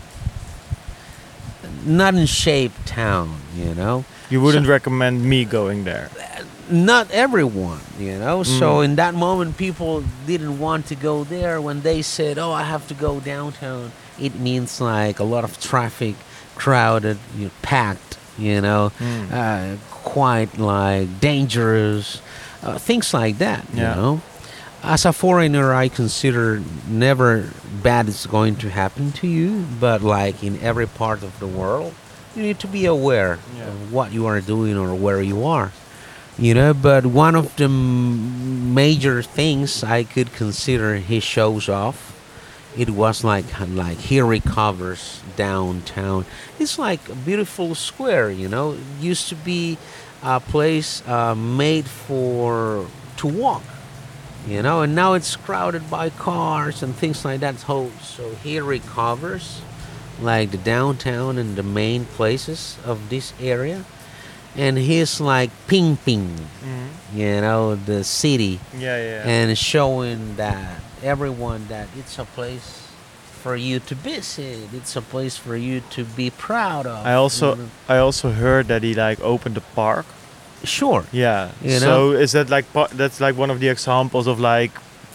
not in shape town, you know. You wouldn't recommend me going there. Not everyone, you know. So Mm. in that moment, people didn't want to go there. When they said, "Oh, I have to go downtown," it means like a lot of traffic, crowded, you know, packed, you know, Mm. uh, quite like dangerous, uh, things like that. Yeah. You know, as a foreigner, I consider never bad is going to happen to you, but like in every part of the world, you need to be aware Yeah. of what you are doing or where you are. You know, but one of the m- major things I could consider he shows off, it was like like he recovers downtown. It's like a beautiful square, you know. It used to be a place uh, made for to walk, you know, and now it's crowded by cars and things like that. So, so he recovers like the downtown and the main places of this area, and he's like pimping, Mm. you know, the city, Yeah, yeah. and showing that everyone that it's a place for you to visit. It's a place for you to be proud of. I also you know. I also heard that he like opened a park. Sure. Yeah. You so know? is that like pa- that's like one of the examples of like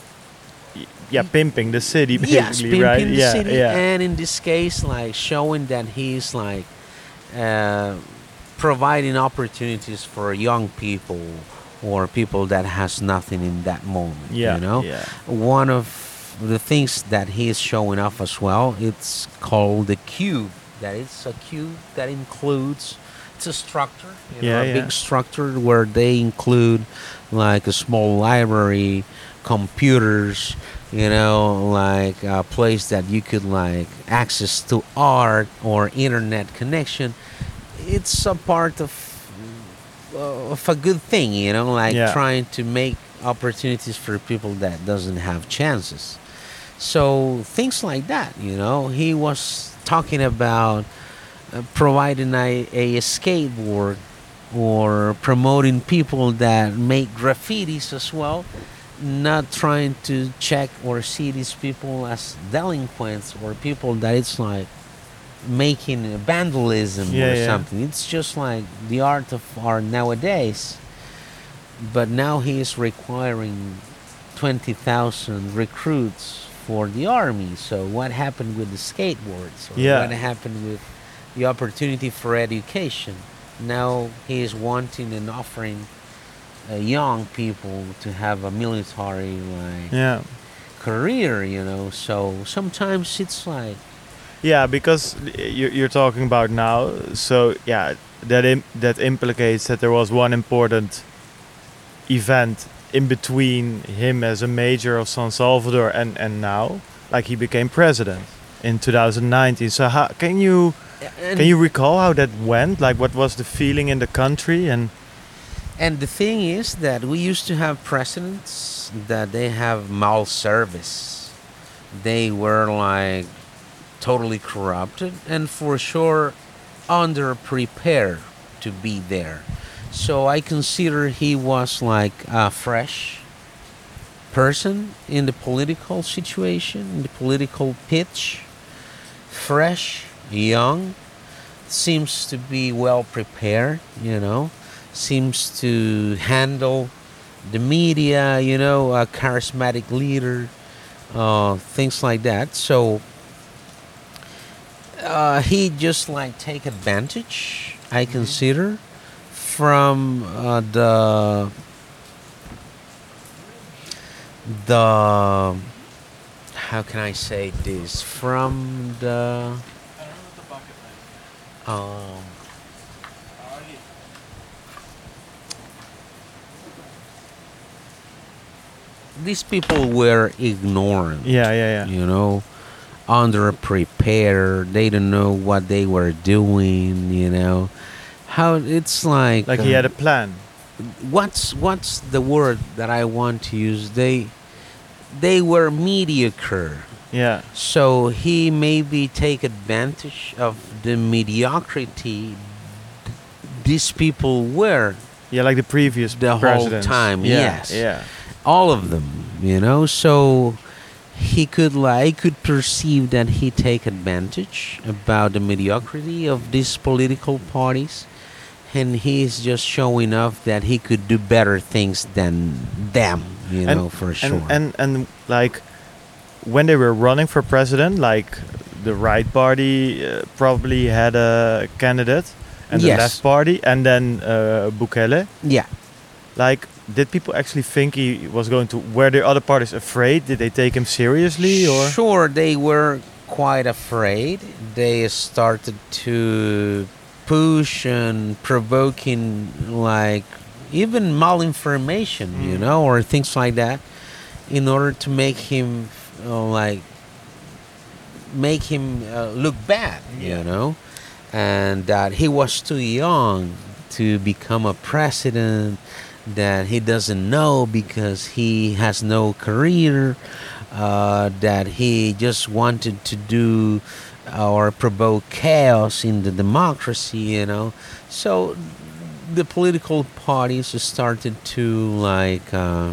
y- yeah, pimping the city basically, Yes, pimping right? the yeah, city, yeah. and in this case, like showing that he's like uh, providing opportunities for young people or people that has nothing in that moment. Yeah, you know, yeah. one of the things that he is showing off as well, it's called the cube. That it's a cube that includes, it's a structure, you know, Yeah, a yeah. big structure where they include like a small library, computers, you know, like a place that you could like access to art or internet connection. It's a part of of a good thing, you know, like Yeah. trying to make opportunities for people that doesn't have chances. So things like that, you know. He was talking about uh, providing a, a skateboard or promoting people that make graffitis as well, not trying to check or see these people as delinquents or people that it's like making vandalism Yeah, or yeah. something. It's just like the art of art nowadays. But now he is requiring twenty thousand recruits for the army. So what happened with the skateboards? Or Yeah. what happened with the opportunity for education? Now he is wanting and offering uh, young people to have a military like Yeah. career, you know. So sometimes it's like Yeah, because you- you're talking about now. So yeah, that Im- that implicates that there was one important event in between him as a major of San Salvador and and now, like he became president in two thousand nineteen. So how can you and, can you recall how that went? Like, what was the feeling in the country? And and the thing is that we used to have presidents that they have mal service. They were like totally corrupted and for sure underprepared to be there. So I consider he was like a fresh person in the political situation, in the political pitch. Fresh, young, seems to be well prepared, you know, seems to handle the media, you know, a charismatic leader, uh, things like that. So uh, he just like take advantage, I consider, from uh, the the how can I say this from the um these people were ignorant, yeah, yeah, yeah. you know, underprepared. They don't know what they were doing, you know. How it's like Like he uh, had a plan. what's what's the word that I want to use? They they were mediocre. Yeah, So he maybe take advantage of the mediocrity these people were yeah, like the previous the whole presidents. time. Yeah, Yes, yeah, all of them. You know, so he could like could perceive that he take advantage about the mediocrity of these political parties, and he's just showing off that he could do better things than them. You And- know, for sure. and and and like when they were running for president, like the right party uh, probably had a candidate, and the Yes. left party, and then uh, Bukele. yeah. Like, did people actually think he was going to? Were the other parties afraid? Did they take him seriously, or? Sure, they were quite afraid. They started to push and provoking, like, even malinformation, you Mm. know, or things like that, in order to make him, uh, like, make him uh, look bad, Yeah. you know, and that he was too young to become a president, that he doesn't know because he has no career, uh, that he just wanted to do or provoke chaos in the democracy, you know. So the political parties started to like, uh,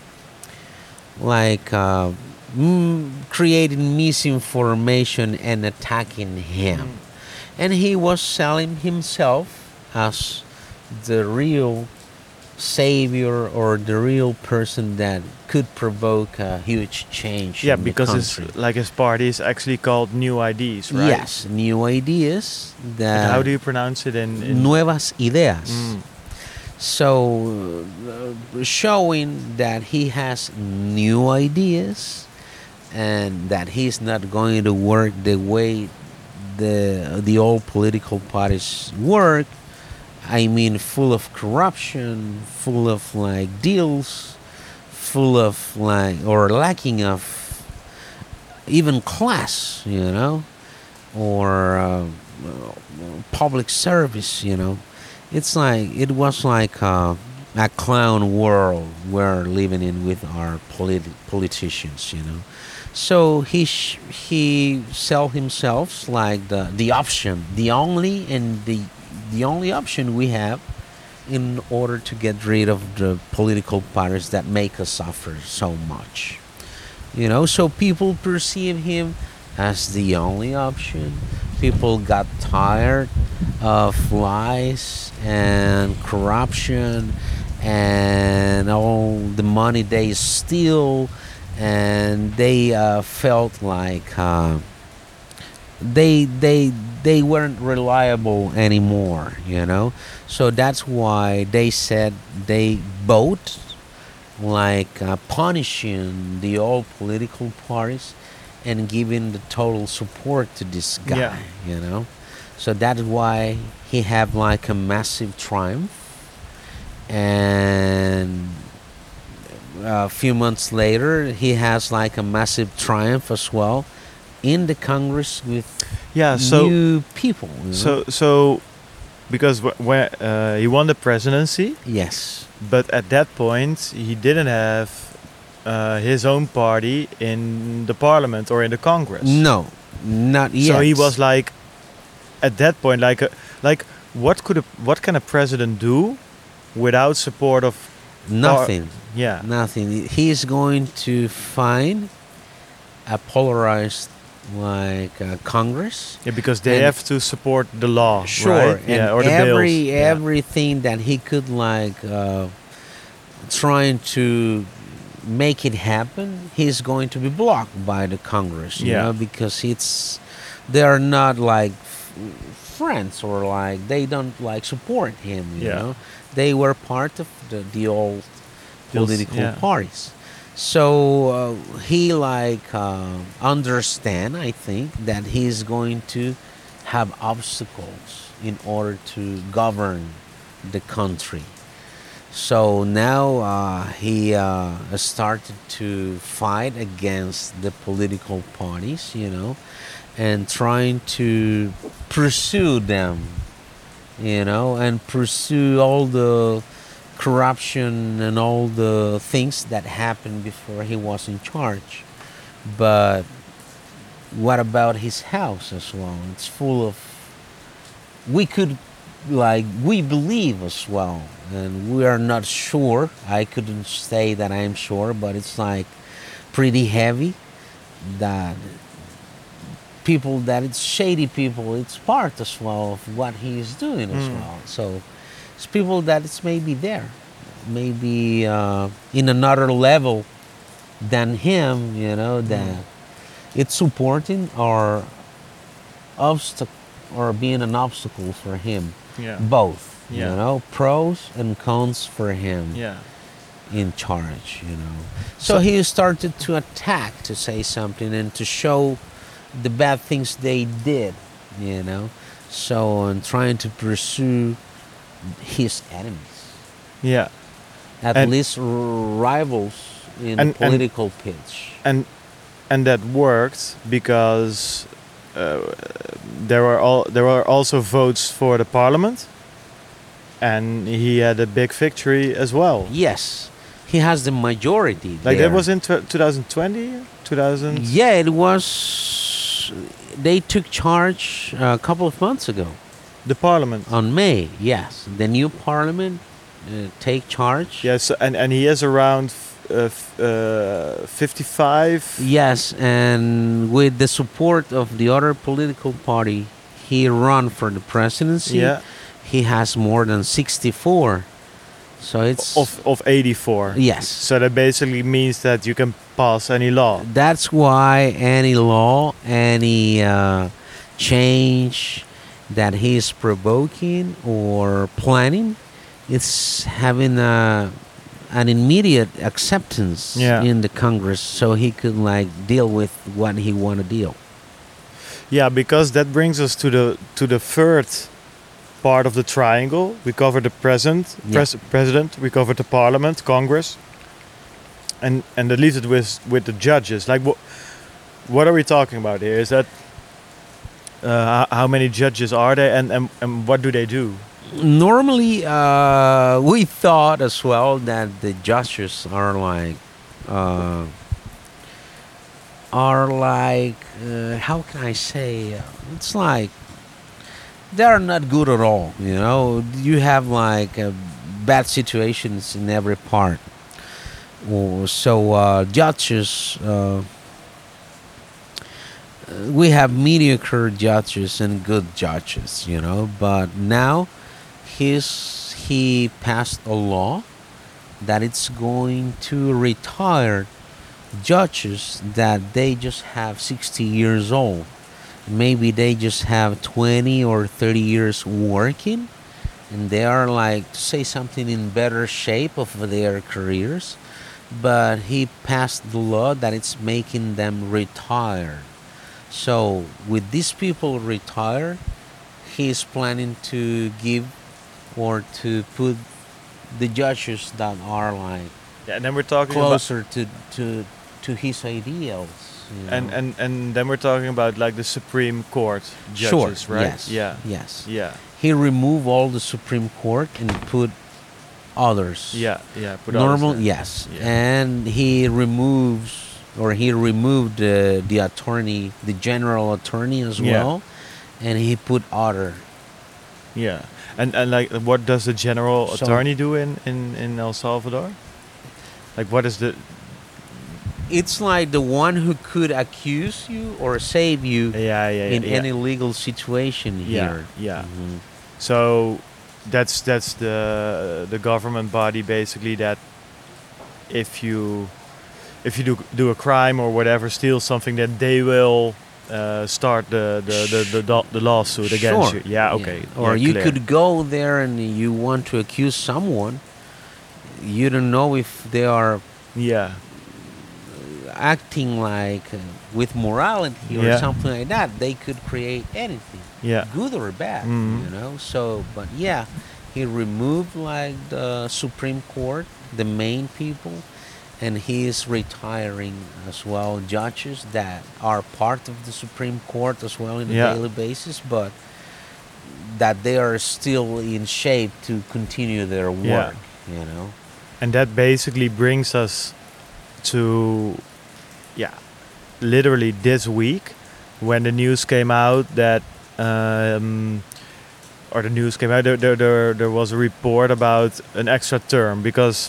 like uh, mm, creating misinformation and attacking him, and he was selling himself as the real savior or the real person that could provoke a huge change. Yeah, in the because it's country. like his party is actually called New I Ds, right? Yes, new ideas that And how do you pronounce it in? in nuevas ideas. Mm. So uh, showing that he has new ideas and that he's not going to work the way the the old political parties work. I mean, full of corruption, full of like deals, full of like or lacking of even class, you know, or uh, public service, you know. It's like it was like uh, a clown world we're living in with our politi- politicians, you know. So he sh- he sell himself like the the option, the only and the the only option we have in order to get rid of the political parties that make us suffer so much. You know, so people perceive him as the only option. People got tired of lies and corruption and all the money they steal, and they uh, felt like uh, they they they weren't reliable anymore. You know, so that's why they said they vote like uh, punishing the old political parties and giving the total support to this guy. Yeah. You know, so that's why he had like a massive triumph, and a few months later he has like a massive triumph as well in the Congress with Yeah. So new people. You know? so so because wh- where uh, he won the presidency, yes, but at that point he didn't have uh, his own party in the parliament or in the Congress. no, not yet. So he was like, at that point, like, a, like what could a, what can a president do without support of? nothing. Yeah. Nothing. He is going to find a polarized like uh, Congress. Yeah, because they And- have to support the law, Sure, right? and Yeah, or the every bills. Yeah. everything that he could like uh, trying to make it happen, he's going to be blocked by the Congress. You Yeah. know, because it's they are not like f- friends or like they don't like support him. You Yeah. know, they were part of the, the old Those- political yeah. parties. So uh, he like uh, understand, I think, that he's going to have obstacles in order to govern the country. So now uh, he uh, started to fight against the political parties, you know, and trying to pursue them, you know, and pursue all the corruption and all the things that happened before he was in charge. But what about his house as well? It's full of, we could, like, we believe as well, and we are not sure. I couldn't say that I'm sure, but it's like pretty heavy that people, that it's shady people, it's part as well of what he is doing as Mm. well. So it's people that it's maybe there, maybe uh, in another level than him, you know, that it's supporting or obstacle or being an obstacle for him. Yeah. Both, Yeah. you know, pros and cons for him Yeah. in charge, you know. So, So- he started to attack, to say something, and to show the bad things they did, you know. So, and trying to pursue his enemies, Yeah. at And- least r- rivals in And- the and- political pitch. And and that worked because uh, there were all there were also votes for the parliament, and he had a big victory as well. Yes, he has the majority. Like there. that was in tw- twenty twenty, two thousand. Yeah, it was. They took charge a couple of months ago. The parliament. On May, yes, the new parliament uh, take charge. Yes, and and he is around f- uh, f- uh, fifty-five. Yes, and with the support of the other political party, he run for the presidency. Yeah, He has more than sixty-four. So it's of of eighty-four. yes. So that basically means that you can pass any law. That's why any law, any uh, change that he is provoking or planning, it's having a, an immediate acceptance Yeah. in the Congress, so he could like deal with what he want to deal. Yeah, because that brings us to the to the third part of the triangle. We covered the present, Yeah. pres- president. We covered the parliament, Congress, and and that leaves it with with the judges. Like what what are we talking about here? Is that uh, how, how many judges are there, and, and and what do they do? Normally, uh, we thought as well that the judges are like uh, are like, uh, how can I say? uh, It's like they are not good at all. You know, you have like uh, bad situations in every part. Oh, So uh, judges, uh, we have mediocre judges and good judges. You know, but now he's he passed a law that it's going to retire judges that they just have sixty years old. Maybe they just have twenty or thirty years working, and they are like, to say something, in better shape of their careers. But he passed the law that it's making them retire. So with these people retire, he's planning to give or to put the judges that are like Yeah, and then we're talking about closer to to to his ideals. You and, know? and and then we're talking about like the Supreme Court Sure. judges, right? Yes. Yeah. Yes. Yeah. He removed all the Supreme Court and put others. Yeah. Yeah. Put others Normal. there. Yes. Yeah. And he removes or he removed uh, the attorney, the general attorney as Yeah. well, and he put other. Yeah. And and like what does the general So- attorney do in, in, in El Salvador? Like what is the It's like the one who could accuse you or save you yeah, yeah, yeah, in yeah. any legal situation Yeah, here. yeah. Mhm. So that's that's the the government body basically that if you if you do do a crime or whatever, steal something, that they will uh, start the the, the, the, the, the lawsuit against Sure. you. Yeah, okay. Or yeah, you clear. could go there and you want to accuse someone. You don't know if they are Yeah. acting like uh, with morality or Yeah. something like that. They could create anything, Yeah. good or bad, Mhm. you know. So, but yeah, he removed like the Supreme Court, the main people, and he is retiring as well judges that are part of the Supreme Court as well on a Yeah. daily basis, but that they are still in shape to continue their Yeah. work, you know. And that basically brings us to, yeah, literally this week when the news came out that, um, or the news came out, there, there, there, there was a report about an extra term because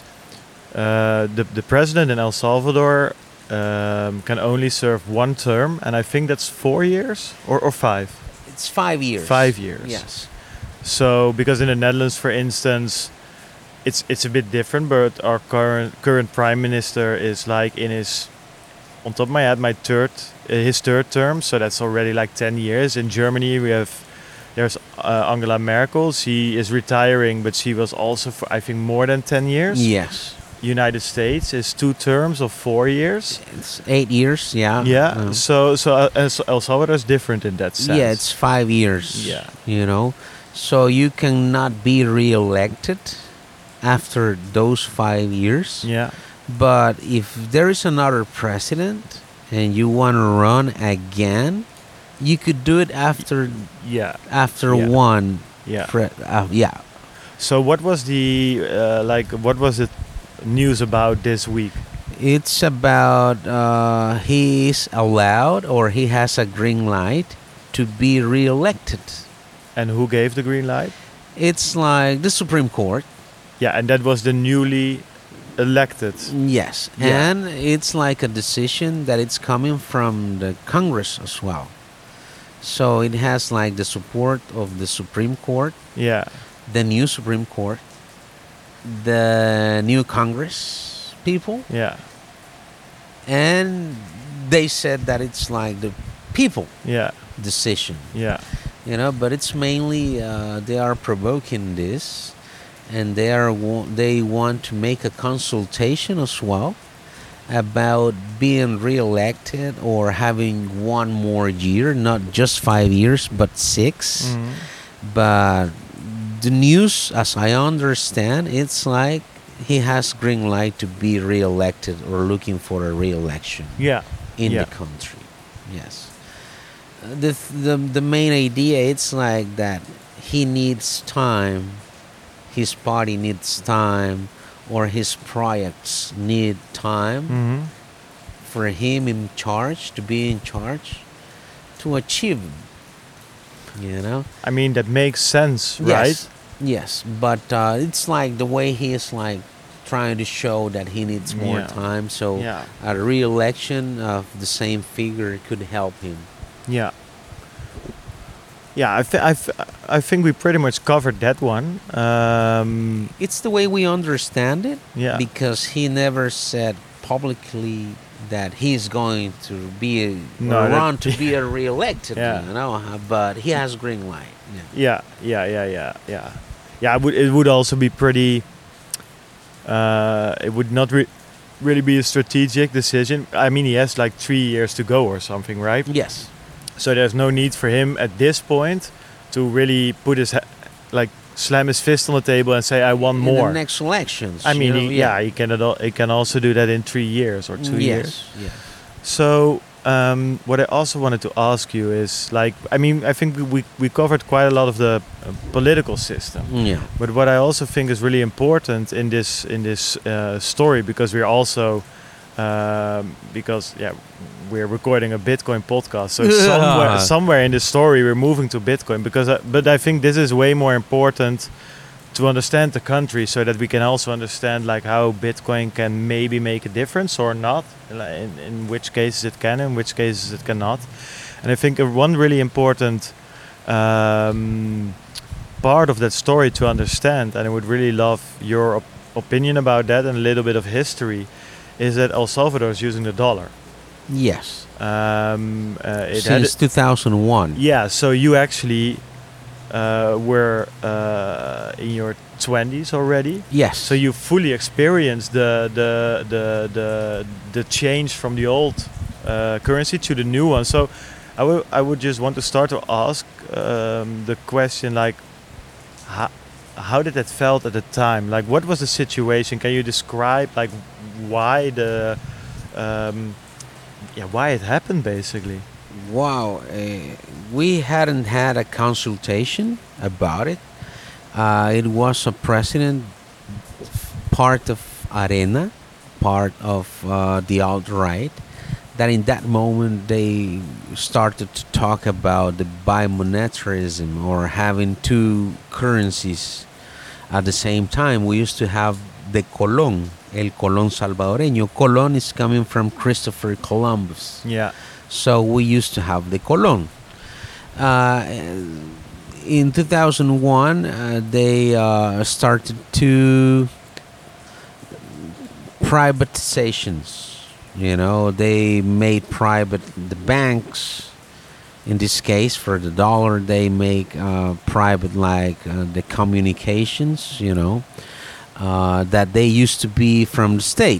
uh, the, the president in El Salvador um, can only serve one term, and I think that's four years or, or five. It's five years. Five years. Yes. So, because in the Netherlands, for instance, it's it's a bit different. But our current current prime minister is like in his, on top of my head, my third, uh, his third term. So that's already like ten years. In Germany, we have there's uh, Angela Merkel. She is retiring, but she was also for I think more than ten years. Yes. United States is two terms of four years. It's eight years, yeah. Yeah. Uh, So so uh, El El Salvador is different in that sense. yeah, it's five years. Yeah. You know, so you cannot be re-elected after those five years. Yeah. But if there is another president and you want to run again, you could do it after Yeah. after Yeah. one. Yeah. Pre- uh, yeah. So what was the uh, like? What was the news about this week? It's about uh, he is allowed or he has a green light to be re-elected. And who gave the green light? It's like the Supreme Court. Yeah, and that was the newly elected. Yes, Yeah. and it's like a decision that it's coming from the Congress as well. So it has like the support of the Supreme Court, Yeah, the new Supreme Court, the new Congress people, yeah, and they said that it's like the people yeah, decision, yeah, you know. But it's mainly uh, they are provoking this, and they are wa- they want to make a consultation as well about being re-elected or having one more year, not just five years but six. Mhm. But the news, as I understand, it's like he has green light to be re-elected or looking for a re-election yeah, in yeah. the country. Yes. Uh, The, the the main idea it's like that he needs time, his party needs time, or his projects need time Mhm. for him in charge, to be in charge, to achieve, you know. I mean, that makes sense, right? Yes, yes, but uh, it's like the way he is like trying to show that he needs more Yeah. time. So Yeah. a re-election of the same figure could help him. Yeah. Yeah, I, th- I, th- I think we pretty much covered that one. Um, It's the way we understand it, yeah. because he never said publicly that he's going to be a, No, or that- run to be a re-elected, Yeah. you know. uh, But he has green light. Yeah. Yeah, yeah, yeah, yeah, yeah. Yeah, it would, it would also be pretty... Uh, it would not re- really be a strategic decision. I mean, he has like three years to go or something, right? Yes. So there's no need for him at this point to really put his... Ha- like, slam his fist on the table and say, I want In more. the next elections. I mean, you know, he, yeah, he can, al- he can also do that in three years or two yes, years. Yes. So, um, what I also wanted to ask you is, like, I mean, I think we we covered quite a lot of the uh, political system, Yeah. but what I also think is really important in this in this uh, story, because we're also um, because yeah, we're recording a Bitcoin podcast, so somewhere somewhere in the story we're moving to Bitcoin, because I, but I think this is way more important to understand the country, so that we can also understand like how Bitcoin can maybe make a difference or not, in, in which cases it can, in which cases it cannot. And I think uh, one really important um, part of that story to understand, and I would really love your op- opinion about that and a little bit of history, is that El Salvador is using the dollar. Yes. Um, uh, it Since had two thousand one. yeah, so you actually uh, were uh, in your twenties already. Yes. So you fully experienced the the the the, the change from the old uh, currency to the new one. So I would I would just want to start to ask um, the question, like, how how did that felt at the time? Like, what was the situation? Can you describe like why the um, yeah why it happened basically? Wow, uh, we hadn't had a consultation about it. Uh, it was a president, part of Arena, part of uh, the alt-right, that in that moment they started to talk about the bimonetarism, or having two currencies at the same time. We used to have the Colón, el Colón salvadoreño. Colón is coming from Christopher Columbus. Yeah. So we used to have the Colón. Uh, in two thousand one, uh, they uh, started to privatizations. You know, they made private the banks. In this case, for the dollar, they make uh, private like uh, the communications. You know, uh, that they used to be from the state.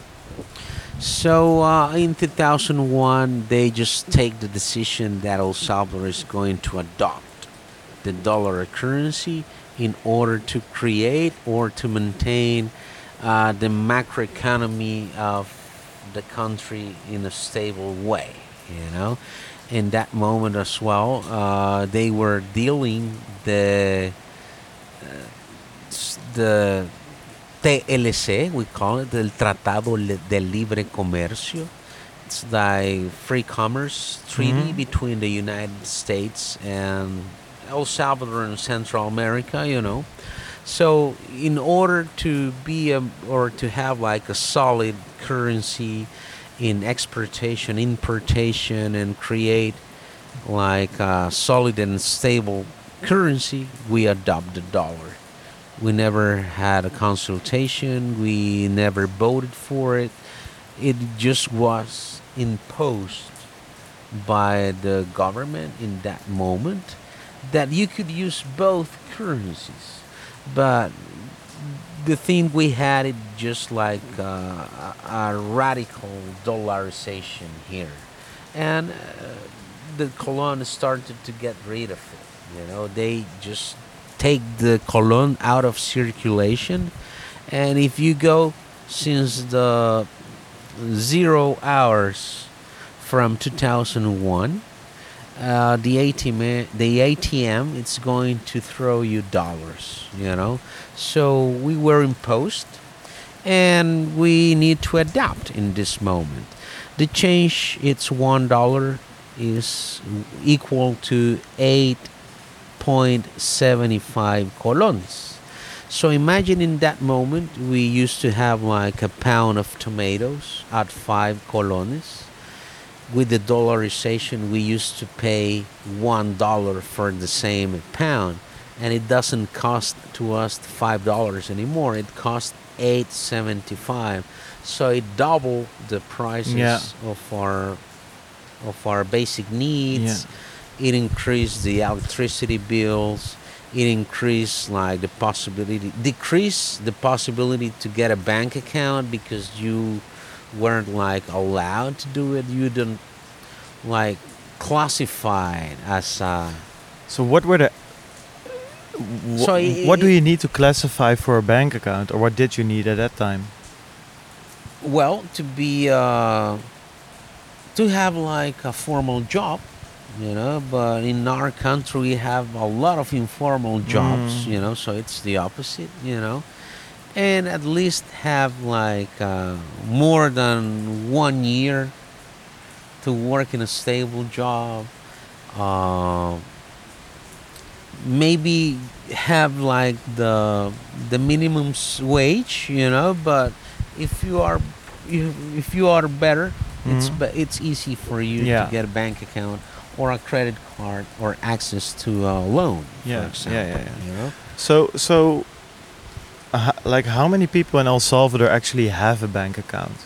So uh, in two thousand one, they just take the decision that El Salvador is going to adopt the dollar currency in order to create or to maintain uh, the macroeconomy of the country in a stable way. You know, in that moment as well, uh, they were dealing the uh, s- the T L C, we call it, el Tratado Le- de Libre Comercio. It's the free commerce treaty Mhm. between the United States and El Salvador and Central America, you know. So in order to be a, or to have like a solid currency in exportation, importation, and create like a solid and stable currency, we adopt the dollar. We never had a consultation. We never voted for it. It just was imposed by the government in that moment that you could use both currencies. But the thing we had, it just like uh, a, a radical dollarization here. And uh, the colon started to get rid of it. You know, they just take the colon out of circulation, and if you go since the zero hours from two thousand one, uh, the A T M, the A T M, it's going to throw you dollars. You know, so we were imposed, and we need to adapt in this moment. The change, it's one dollar, is equal to eight point seven five colones. So imagine in that moment we used to have like a pound of tomatoes at five colones. With the dollarization, we used to pay one dollar for the same pound, and it doesn't cost to us five dollars anymore. It costs eight seventy-five. So it doubled the prices Yeah. of our of our basic needs. It increased the electricity bills. It increased like the possibility, decreased the possibility to get a bank account because you weren't like allowed to do it. You didn't like classified as a. So what were the wh- So i- what do i- you need to classify for a bank account, or what did you need at that time? Well, to be uh, to have like a formal job, you know. But in our country, we have a lot of informal jobs, Mm. you know. So it's the opposite, you know. And at least have like uh, more than one year to work in a stable job. Uh, maybe have like the the minimum s- wage, you know. But if you are you, if you are better, it's Mhm. be, it's easy for you Yeah. to get a bank account or a credit card or access to a loan, Yeah, for example. yeah, yeah, yeah. You know, So so uh, like how many people in El Salvador actually have a bank account?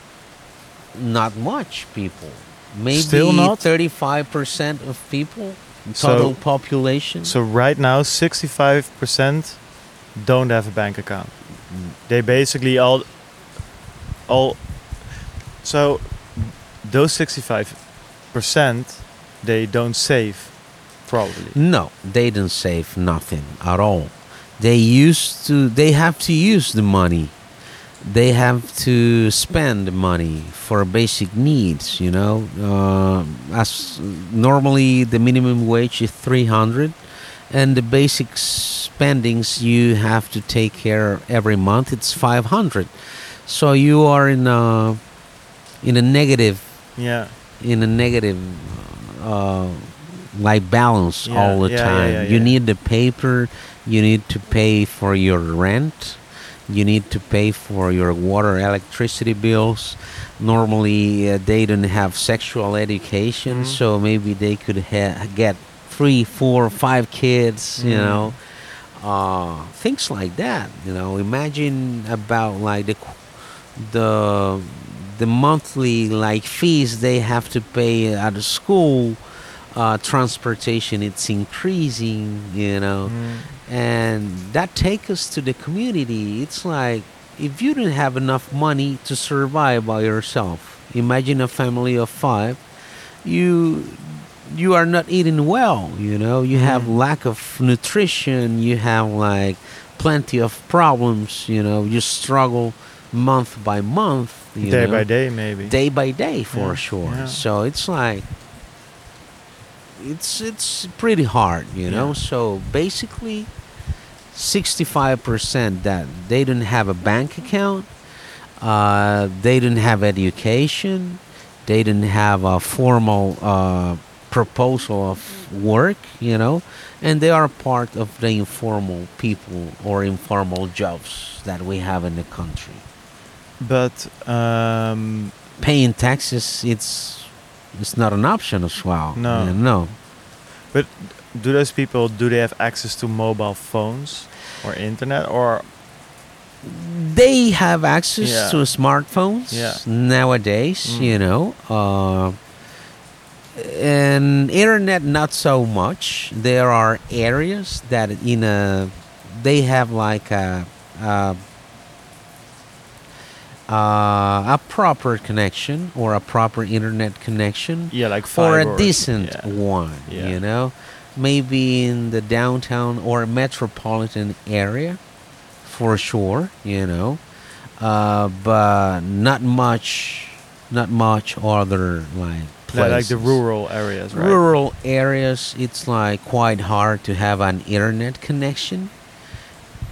not much people. Maybe Still not? thirty-five percent of people, So- total population. So right now, sixty-five percent don't have a bank account. They basically all, all. So those sixty-five percent, they don't save, probably. No, they don't save nothing at all. They used to. They have to use the money. They have to spend the money for basic needs. You know, uh, as normally the minimum wage is three hundred, and the basic spendings you have to take care every month. It's five hundred. So you are in a in a negative Yeah. in a negative uh, like balance Yeah, all the yeah, yeah, time. yeah, You yeah. need the paper, you need to pay for your rent, you need to pay for your water, electricity bills. Normally, uh, they don't have sexual education, Mhm. so maybe they could ha- get three, four, five kids, you Mhm. know. Uh, things like that, you know. Imagine about like the qu- the the monthly like fees they have to pay at the school, uh, transportation it's increasing, you know, Mm. and that takes us to the community. It's like if you don't have enough money to survive by yourself, imagine a family of five, you you are not eating well, you know, you have Mm. lack of nutrition, you have like plenty of problems, you know, you struggle month by month, you Day know, by day, maybe. day by day for Yeah, sure. yeah. So it's like it's it's pretty hard, you know. Yeah. So basically, sixty-five percent that they don't have a bank account, uh, they don't have education, they didn't have a formal uh, proposal of work, you know, and they are part of the informal people or informal jobs that we have in the country. But um, Paying taxes, it's it's not an option as well. No. Yeah, no. do those people, do they have access to mobile phones or internet, or They have access Yeah. to smartphones Yeah. nowadays, Mm. you know. Uh, and internet, not so much. There are areas that in a they have like a a, uh, a proper connection or a proper internet connection yeah, like or fiber a decent yeah. one, Yeah. you know, maybe in the downtown or metropolitan area, for sure, you know, uh, but not much, not much other like Like, places. like the rural areas, right? Rural areas, it's like quite hard to have an internet connection.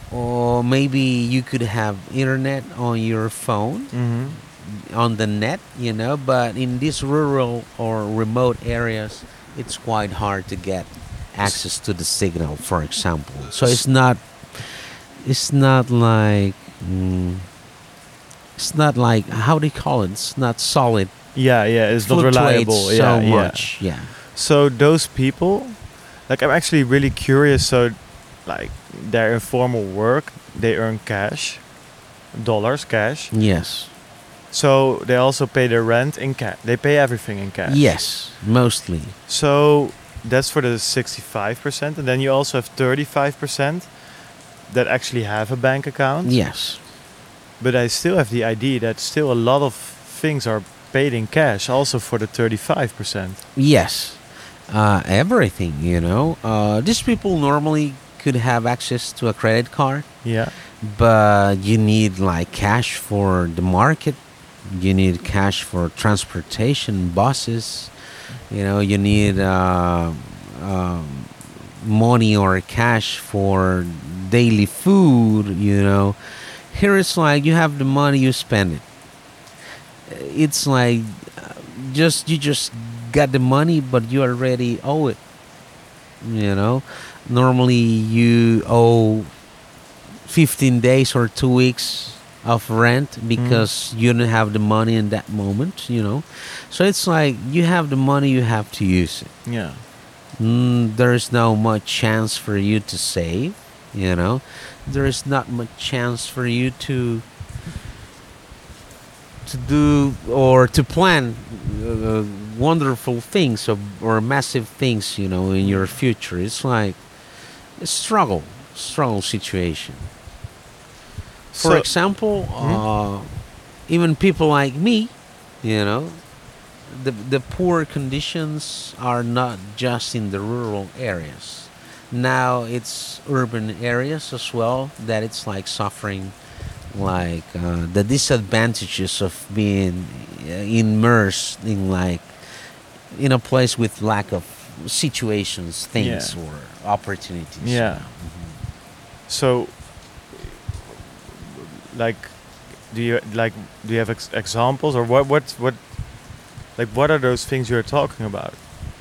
or maybe you could have internet on your phone, Mm-hmm. on the net, you know, but in these rural or remote areas, it's quite hard to get access to the signal, for example. So it's not, it's not like, mm, it's not like, how do you call it? It's not solid. Yeah, yeah, it's not Fluctuates reliable. so yeah, yeah. much. Yeah. So those people, like, I'm actually really curious. So, like, their informal work, they earn cash, dollars, cash. Yes. So they also pay their rent in cash. They pay everything in cash. Yes, mostly. So that's for the sixty-five percent, and then you also have thirty-five percent that actually have a bank account. Yes. But I still have the idea that still a lot of things are paid in cash, also for the thirty-five percent. Yes. Uh, everything, you know. Uh, these people normally could have access to a credit card, Yeah. but you need like cash for the market. You need cash for transportation, buses. You know, you need uh, um, money or cash for daily food. You know, here it's like you have the money, you spend it. It's like uh, just you just got the money, but you already owe it. You know, normally you owe fifteen days or two weeks of rent because you don't have the money in that moment, you know. So it's like you have the money, you have to use it. Yeah. Mm, there's no much chance for you to save, you know. There is not much chance for you to to do or to plan uh, wonderful things or, or massive things, you know, in your future. It's like a struggle, struggle situation. For So- example, uh, even people like me, you know, the the poor conditions are not just in the rural areas. Now it's urban areas as well that it's like suffering, like uh, the disadvantages of being uh, immersed in like in a place with lack of situations, things, Yeah. or opportunities. Yeah. So, like, do you like do you have ex- examples, or what what what like what are those things you're talking about?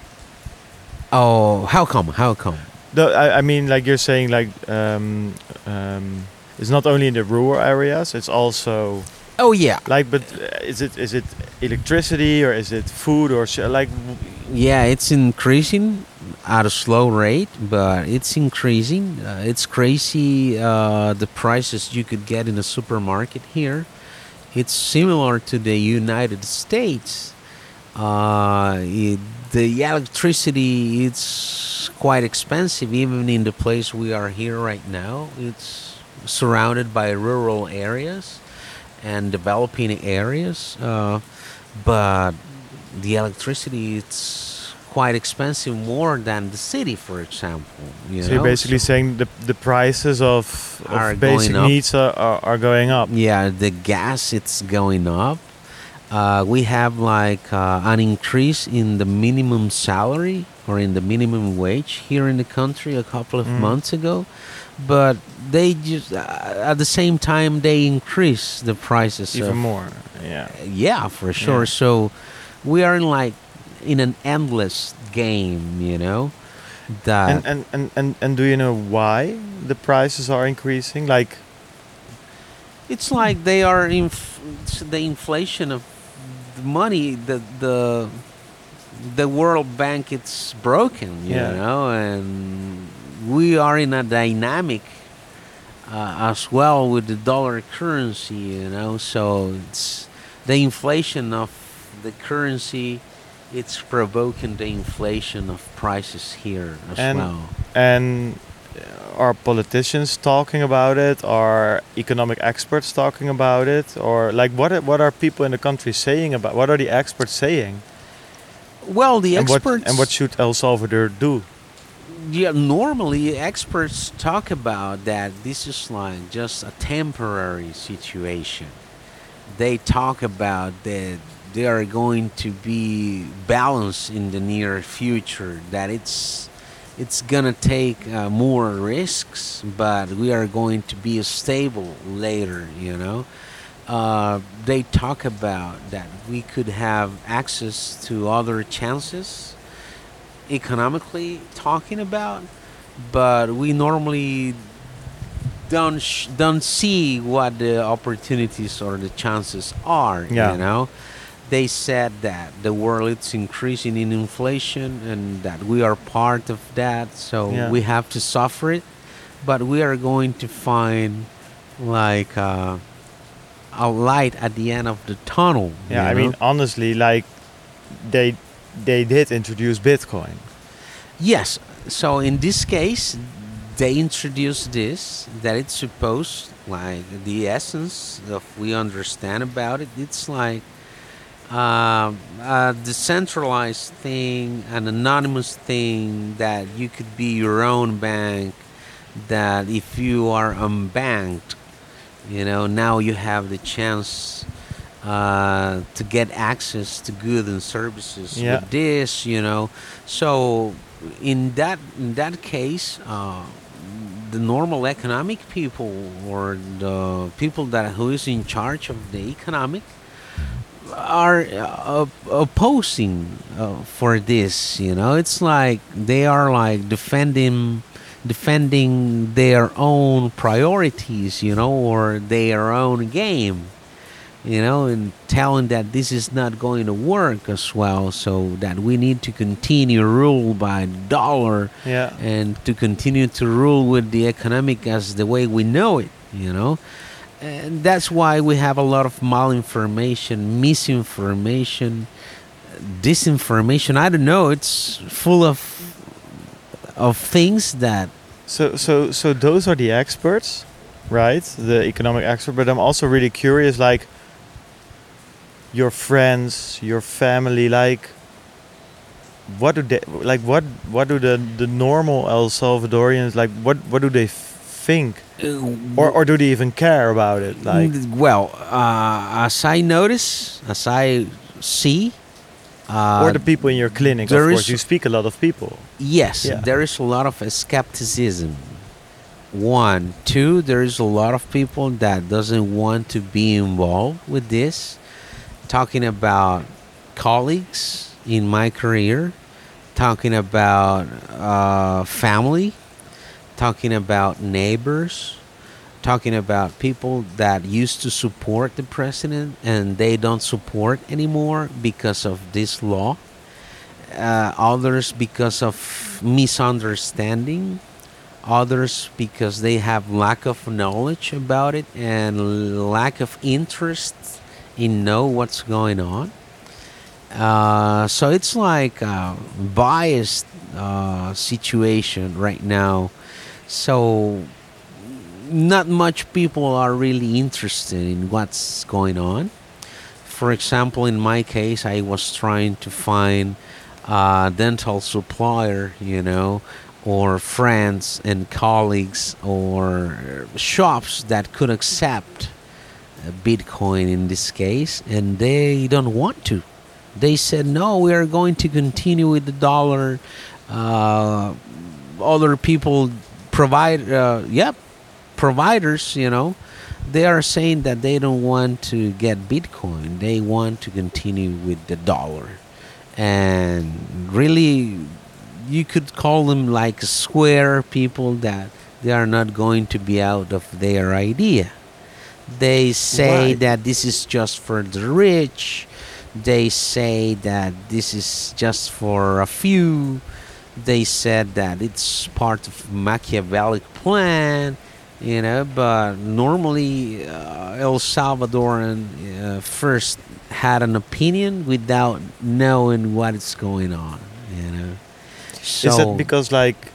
Oh, how come? How come? The, I, I mean, like you're saying, like um, um, it's not only in the rural areas; it's also Oh yeah, like. But uh, is it is it electricity, or is it food, or sh- like? w- yeah. It's increasing at a slow rate, but it's increasing. Uh, it's crazy. Uh, the prices you could get in a supermarket here. It's similar to the United States. Uh, it, the electricity it's quite expensive, even in the place we are here right now. It's surrounded by rural areas and developing areas, uh, but the electricity it's quite expensive, more than the city, for example. You So know? you're basically So- saying the the prices of, Are of basic going up. needs are, are, are going up. Yeah, the gas it's going up. Uh, we have like uh, an increase in the minimum salary or in the minimum wage here in the country a couple of Mm. months ago, but they just uh, at the same time they increase the prices Even of- more. Yeah. Yeah, for sure. Yeah. So we are in like in an endless game, you know. That And, and, and, and, and do you know why the prices are increasing? Like, it's like they are inf- it's the inflation of the money. The the the World Bank it's broken, you Yeah. know, and we are in a dynamic uh, as well with the dollar currency, you know. So it's the inflation of the currency. It's provoking the inflation of prices here as And- well. and are politicians talking about it? Are economic experts talking about it? Or like, what are, what are people in the country saying about? What are the experts saying? Well, the and experts what and what should El Salvador do? Yeah, normally experts talk about that this is like just a temporary situation. They talk about that they are going to be balanced in the near future, that it's it's gonna take uh, more risks, but we are going to be stable later. You know, uh, they talk about that we could have access to other chances, economically talking about, but we normally don't sh- don't see what the opportunities or the chances are. Yeah. You know, they said that the world is increasing in inflation and that we are part of that, so Yeah. we have to suffer it, but we are going to find like uh, a light at the end of the tunnel. Yeah, you I mean, know? honestly, like they they did introduce Bitcoin. Yes. So in this case, they introduced this that it's supposed like the essence of we understand about it. It's like um, a decentralized thing, an anonymous thing that you could be your own bank. That if you are unbanked, you know now you have the chance uh, to get access to goods and services Yeah. with this, you know. So in that in that case, uh, the normal economic people or the people that who is in charge of the economic are uh, opposing uh, for this. You know, it's like they are like defending defending their own priorities, you know, or their own game, you know, and telling that this is not going to work as well, so that we need to continue rule by dollar Yeah. and to continue to rule with the economic as the way we know it, you know. And that's why we have a lot of malinformation, misinformation, disinformation. I don't know. It's full of of things that So so so those are the experts, right? The economic expert. But I'm also really curious, like your friends, your family, like what do they like? What what do the the normal El Salvadorians like? What what do they think, or or do they even care about it? Like, well, uh, as I notice, as I see, uh, or the people in your clinic, of there course. is- You speak a lot of people. yes, Yeah. there is a lot of skepticism. One, two, there is a lot of people that doesn't want to be involved with this. Talking about colleagues in my career, talking about uh, family, talking about neighbors, talking about people that used to support the president and they don't support anymore because of this law. Uh, others because of misunderstanding, others because they have lack of knowledge about it and lack of interest in know what's going on. Uh, so it's like a biased uh, situation right now. So not much people are really interested in what's going on. For example, in my case, I was trying to find a dental supplier, you know, or friends and colleagues or shops that could accept Bitcoin in this case, and they don't want to. They said, no, we are going to continue with the dollar. Uh, other people provide, uh, yep, providers, you know, they are saying that they don't want to get Bitcoin. They want to continue with the dollar. And really, you could call them like square people that they are not going to be out of their idea. They say Right. that this is just for the rich. They say that this is just for a few. They said that it's part of Machiavellic plan, you know, but normally uh, El Salvadoran uh, first had an opinion without knowing what is going on, you know. So Is that because like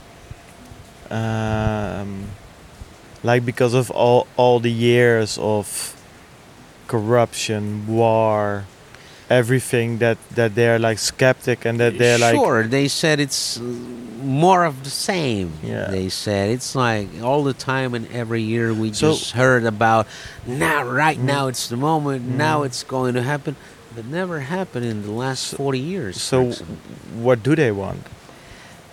um like because of all all the years of corruption, war, everything that that they're like skeptic and that they're like sure, they said it's uh, more of the same. Yeah. They said it's like all the time and every year we So- just heard about now, right Mm. now it's the moment, now Mm. it's going to happen, but never happened in the last So- forty years. for so example. what do they want?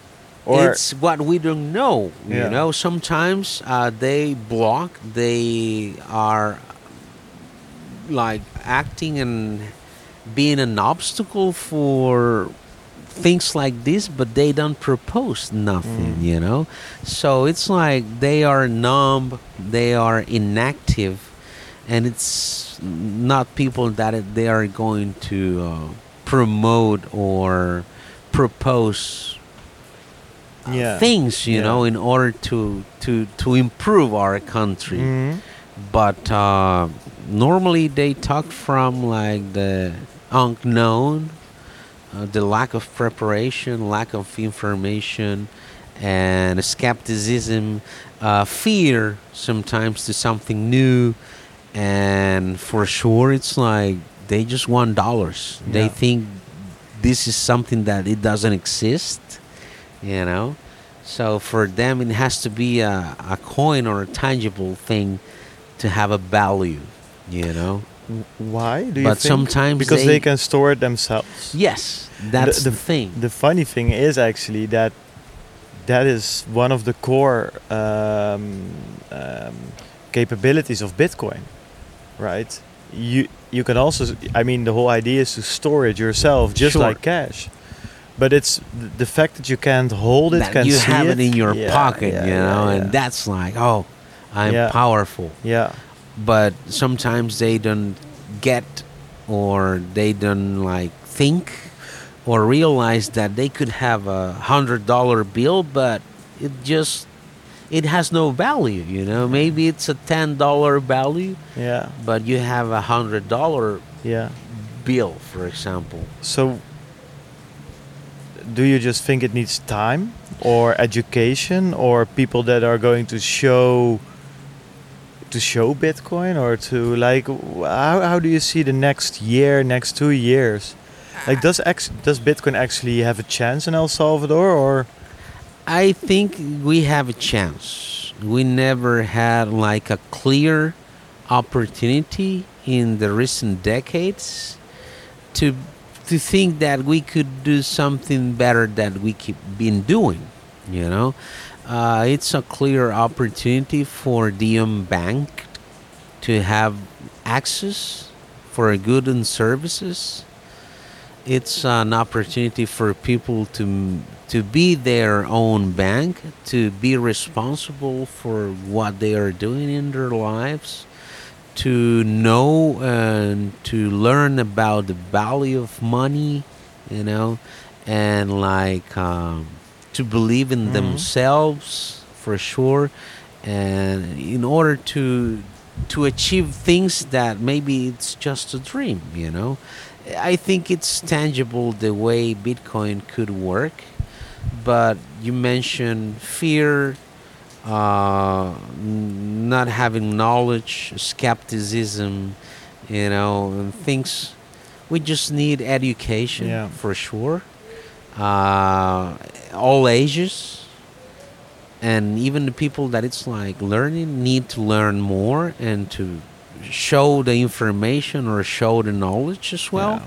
Or it's what we don't know. Yeah. You know, sometimes uh, they block. They are like acting and being an obstacle for things like this, but they don't propose nothing. Mm. You know, so it's like they are numb. They are inactive, and it's not people that it- they are going to uh, promote or propose uh, Yeah. things, you Yeah. know, in order to to to improve our country. Mhm. But uh, normally they talk from like the unknown, uh, the lack of preparation, lack of information, and skepticism, uh, fear sometimes to something new, and for sure it's like they just want dollars. They Yeah. think this is something that it doesn't exist, you know. So for them, it has to be a, a coin or a tangible thing to have a value, you know. W- Why do you But think? sometimes Because they- they can store it themselves. Yes, that's the, the- thing. The funny thing is actually that that is one of the core um, um, capabilities of Bitcoin, right? You you can also, I mean, the whole idea is to store it yourself, just Sure. like cash. But it's th- the fact that you can't hold it, That can you see have it, it in your yeah, pocket, yeah, you yeah, know, yeah. and that's like, oh, I'm Yeah. powerful. yeah, But sometimes they don't get, or they don't like think or realize that they could have a hundred dollar bill, but it just it has no value, you know. Maybe it's a ten dollar value, yeah, but you have a hundred dollar yeah. bill, for example. So, do you just think it needs time, or education, or people that are going to show to show Bitcoin, or to like w- how, how do you see the next year, next two years? Like, does ex- does Bitcoin actually have a chance in El Salvador, or I think we have a chance. We never had like a clear opportunity in the recent decades to to think that we could do something better than we keep been doing. You know, uh, it's a clear opportunity for the unbanked to have access for goods and services. It's an opportunity for people to to be their own bank, to be responsible for what they are doing in their lives, to know and to learn about the value of money, you know, and like um, to believe in Mhm. themselves for sure, and in order to to achieve things that maybe it's just a dream, you know. I think it's tangible the way Bitcoin could work, but you mentioned fear, uh, n- not having knowledge, skepticism, you know, and things. We just need education Yeah. for sure. Uh, all ages, and even the people that it's like learning need to learn more and to show the information or show the knowledge as well.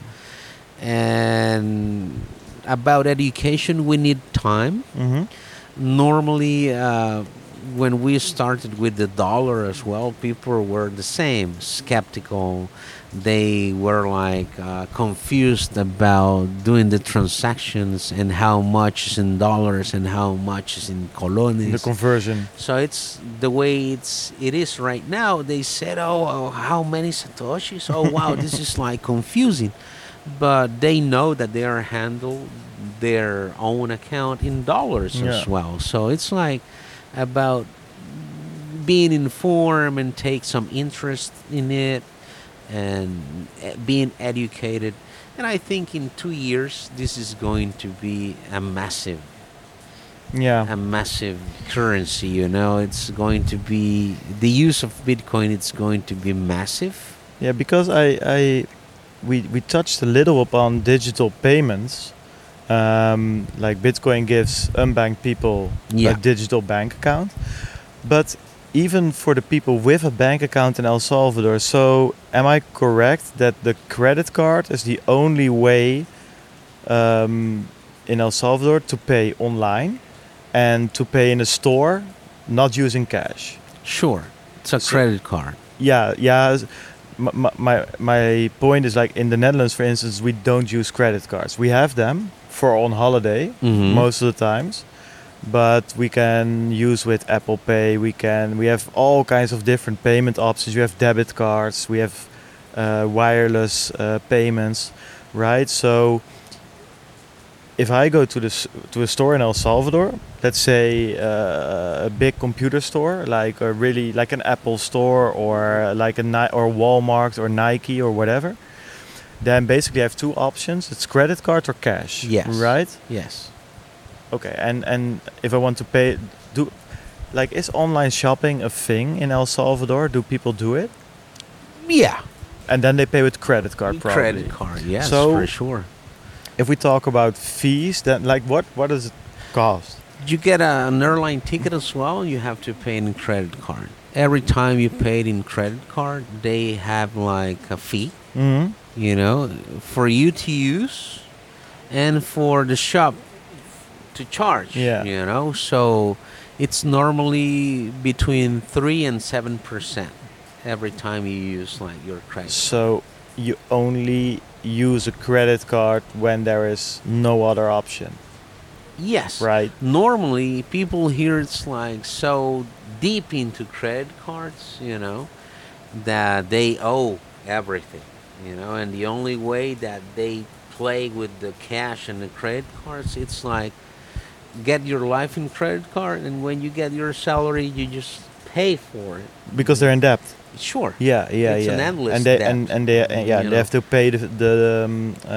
And about education, we need time. Mm-hmm. Normally, uh, when we started with the dollar as well, people were the same, skeptical. They were like uh, confused about doing the transactions and how much is in dollars and how much is in The colones. conversion. So it's the way it's it is right now. They said, "Oh, oh, how many satoshis? Oh, wow, this is like confusing." But they know that they are handle their own account in dollars Yeah. as well. So it's like about being informed and take some interest in it and eh, being educated. And I think in two years this is going to be a massive Yeah. a massive currency, you know. It's going to be the use of Bitcoin, it's going to be massive. Yeah, because I, I we, we touched a little upon digital payments. Um, like Bitcoin gives unbanked people Yeah. a digital bank account. But even for the people with a bank account in El Salvador, so am I correct that the credit card is the only way um, in El Salvador to pay online? and to pay in a store, not using cash. Sure, it's a So- credit card. Yeah, yeah. s- My, my my point is like in the Netherlands, for instance, we don't use credit cards. We have them for on holiday Mhm. most of the times, but we can use with Apple Pay. We can we have all kinds of different payment options. You have debit cards. We have uh, wireless uh, payments, right? So if I go to this to a store in El Salvador, let's say uh, a big computer store, like a really like an Apple store or like a Ni- or Walmart or Nike or whatever, then basically I have two options: it's credit card or cash. Yes. Right. Yes. Okay. And and if I want to pay, do like is online shopping a thing in El Salvador? Do people do it? Yeah. And then they pay with credit card, probably. Credit card. Yes, So- for sure. If we talk about fees, then like what what does it cost? You get a, an airline ticket as well. You have to pay in credit card. Every time you pay it in credit card, they have like a fee. Mm-hmm. You know, for you to use, and for the shop to charge. Yeah. You know, so it's normally between three and seven percent every time you use like your credit. So you only use a credit card when there is no other option, Yes. right? Normally, people here it's like so deep into credit cards, you know, that they owe everything, you know, and the only way that they play with the cash and the credit cards, it's like get your life in credit card, and when you get your salary, you just pay for it. Because they're in debt. Sure. Yeah, yeah, It's yeah. an endless and they debt, and and they and yeah, you they have know. to pay the the um, uh,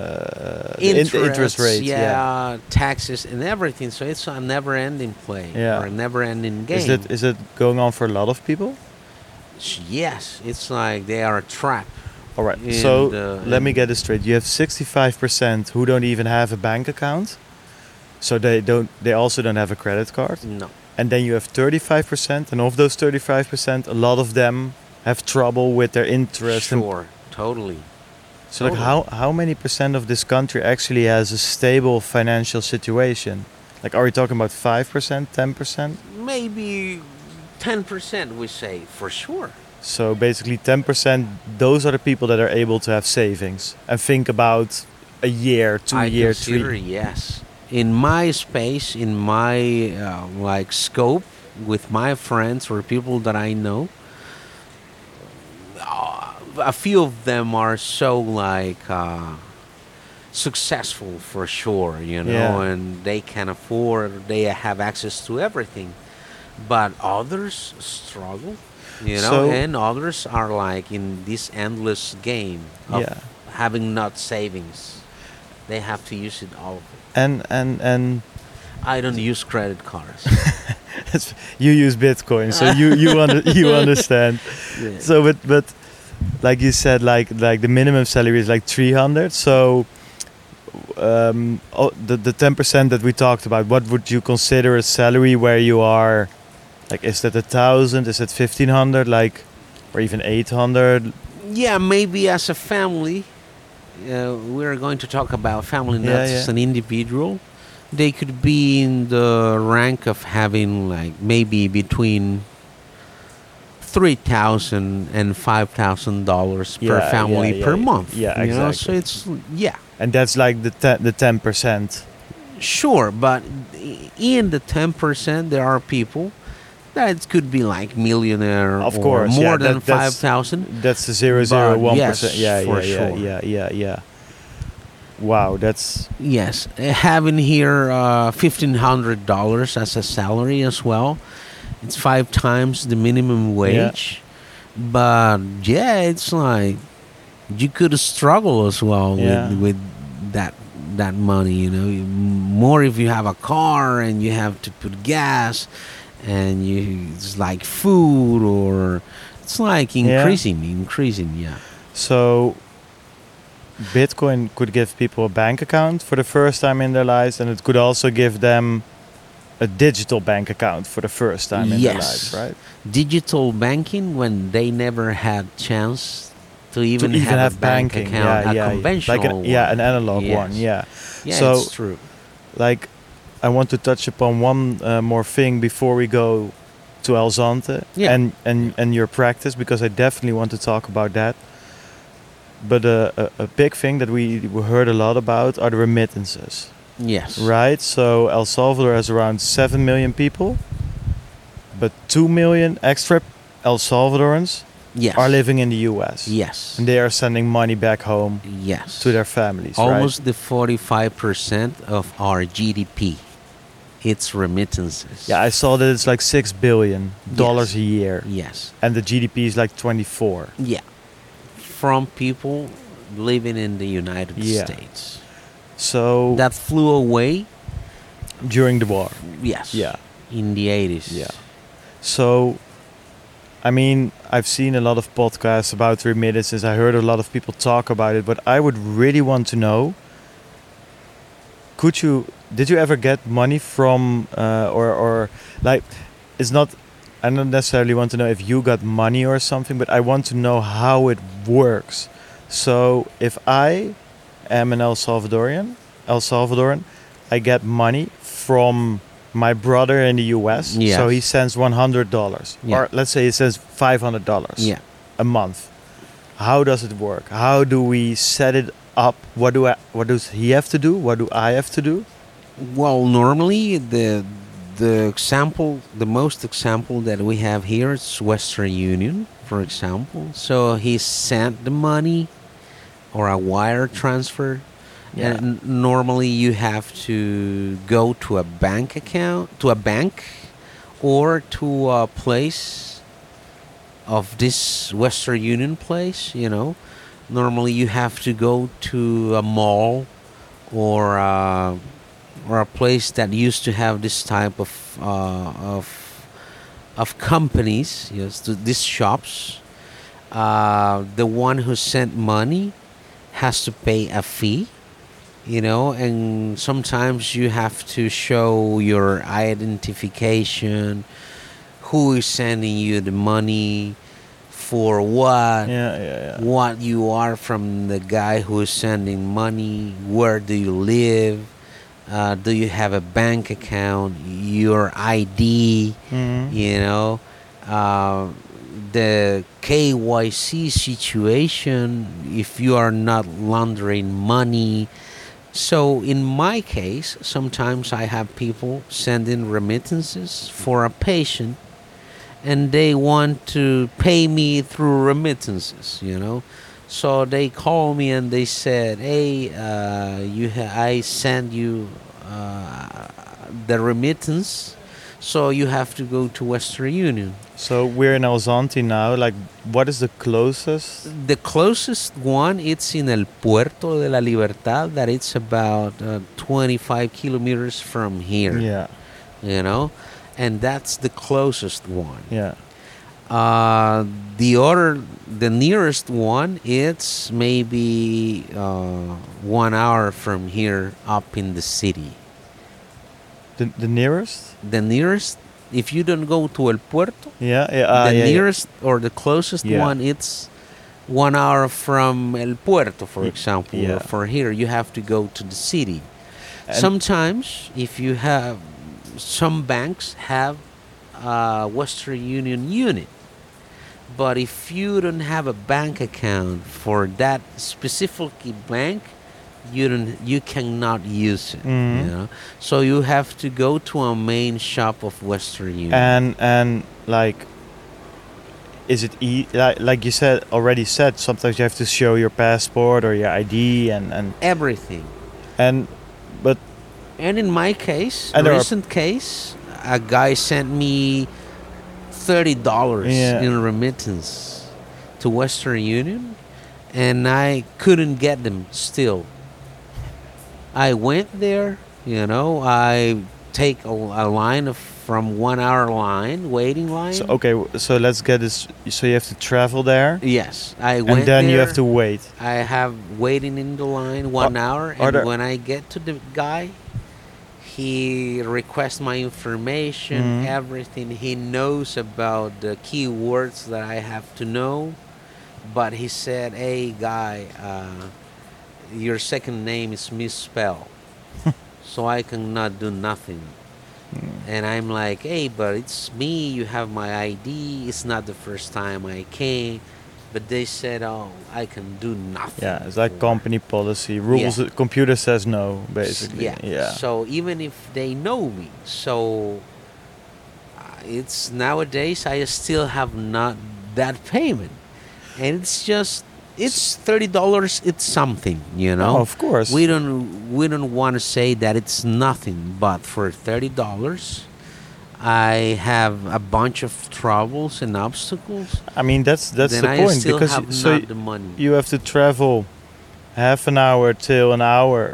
the in- interest rate. yeah, Yeah. taxes and everything. So it's a never-ending play Yeah. or a never-ending game. Is it is it going on for a lot of people? S- Yes, it's like they are trapped. All right. And, so uh, let me and- get this straight. You have sixty-five percent who don't even have a bank account, so they don't. They also don't have a credit card. No. And then you have thirty-five percent, and of those thirty-five percent, a lot of them have trouble with their interest. and- Sure, totally. So, like, how how many percent of this country actually has a stable financial situation? Like, are we talking about five percent, ten percent? Maybe ten percent we say for sure. So basically, ten percent. Those are the people that are able to have savings and think about a year, two I year, consider three. yes. In my space, in my uh, like scope, with my friends or people that I know, uh, a few of them are so like uh, successful for sure, you know, Yeah. and they can afford, they have access to everything. But others struggle, you know, So- and others are like in this endless game of Yeah. having not savings. They have to use it all. And and and I don't use credit cards. it's- you use Bitcoin, so you you under, you understand. Yeah. So, but but like you said, like like the minimum salary is like three hundred. So, um, oh, the the ten percent that we talked about, what would you consider a salary where you are? Like, is that a thousand? Is it fifteen hundred? Like, or even eight hundred? Yeah, maybe as a family, uh, we're going to talk about family, not Yeah, as yeah. an individual. They could be in the rank of having like maybe between three thousand and five thousand dollars per Yeah, family yeah, yeah, per yeah. month. Yeah, you know? So exactly. it's yeah, And that's like the ten, the ten percent. sure, but i- in the ten percent, there are people that it could be like millionaire Of or course, more yeah, than that- that's- five thousand. That's the zero zero one yes, percent. Yeah, for yeah, yeah, sure. yeah, yeah, yeah. Wow, that's Yes, uh, having here uh, fifteen hundred dollars as a salary as well. It's five times the minimum wage, but yeah, it's like you could struggle as well Yeah. with with that that money. You know, You- more if you have a car and you have to put gas, and you it's like food or it's like Yeah. increasing, increasing. Yeah. so. Bitcoin could give people a bank account for the first time in their lives, and it could also give them a digital bank account for the first time in their Yes. lives, right? Digital banking when they never had chance to even, to even have, have, a bank banking, account, yeah, a yeah, conventional like an, yeah, one. an analog Yes. one, yeah. Yeah, So- it's true. Like, I want to touch upon one uh, more thing before we go to El Zante Yeah. and, and, and your practice, because I definitely want to talk about that. But uh, a, a big thing that we we heard a lot about are the remittances, Yes. right? So El Salvador has around seven million people, but two million extra El Salvadorans Yes. are living in the U S. Yes. And they are sending money back home Yes. to their families, Almost right? the forty-five percent of our G D P. It's remittances. Yeah, I saw that it's like six billion dollars Yes. a year, Yes. and the G D P is like twenty-four. Yeah. From people living in the United Yeah. States. So That flew away. during the war, Yes. yeah, In the eighties. yeah. So, I mean, I've seen a lot of podcasts about remittances. I heard a lot of people talk about it, but I would really want to know: Could you? Did you ever get money from, uh, or or like, it's not. I don't necessarily want to know if you got money or something, but I want to know how it works. So if I am an El Salvadorian, El Salvadoran, I get money from my brother in the U S. Yes. So he sends one hundred dollars, Yeah. or let's say he sends five hundred dollars Yeah. a month. How does it work? How do we set it up? What do I, what does he have to do? What do I have to do? Well, normally the the example, the most example that we have here is Western Union, for example. So he sent the money or a wire transfer. Yeah. And n- normally you have to go to a bank account, to a bank, or to a place of this Western Union place, you know. Normally you have to go to a mall or uh, or a place that used to have this type of uh, of of companies, yes, to these shops. Uh, the one who sent money has to pay a fee, you know, and sometimes you have to show your identification, who is sending you the money, for what, Yeah, yeah, yeah. what you are from the guy who is sending money, where do you live, uh, do you have a bank account, your I D, Mhm. you know, uh, the K Y C situation, if you are not laundering money. So in my case, sometimes I have people sending remittances for a patient and they want to pay me through remittances, you know. So they call me and they said, "Hey, uh, you ha- I send you uh, the remittance, so you have to go to Western Union." So we're in El Zante now. Like, what is the closest? The closest one, it's in El Puerto de la Libertad, that it's about uh, twenty-five kilometers from here, Yeah, you know, and that's the closest one. yeah. Uh, the other, the nearest one, it's maybe uh, one hour from here up in the city. The the nearest? The nearest, if you don't go to El Puerto, Yeah, yeah. Uh, the yeah, yeah. nearest or the closest Yeah. one, it's one hour from El Puerto, for Y- example. yeah. Or for here, you have to go to the city. And- Sometimes, if you have, some banks have a Western Union unit. But if you don't have a bank account for that specific bank, you don't, you cannot use it. Mhm. You know, so you have to go to a main shop of Western Union. And and like, is it e- like, like you said already said? Sometimes you have to show your passport or your I D and and Everything. and, but And in my case, And there are- recent case, a guy sent me thirty dollars Yeah. in remittance to Western Union, and I couldn't get them still. I went there, you know, I take a, a line of from one hour line, waiting line. so okay. w- So let's get this. So you have to travel there, Yes, I went and then there. you have to wait. I have waiting in the line one hour, are and there- when I get to the guy, he requests my information, Mhm. everything. He knows about the keywords that I have to know, but he said, "Hey, guy, uh, your second name is misspelled." so I cannot do nothing. Mm. And I'm like, hey, but it's me. You have my I D. It's not the first time I came. But they said, oh, I can do nothing. Yeah, it's like for- company policy. Rules, Yeah. the computer says no, basically. Yeah. Yeah. So even if they know me, so uh, it's nowadays I still have not that payment, and it's just it's thirty dollars. It's something, you know. Oh, of course. We don't we don't want to say that it's nothing, but for thirty dollars, I have a bunch of troubles and obstacles. I mean, that's that's then the I point still because have y- so not y- the money. you have to travel half an hour till an hour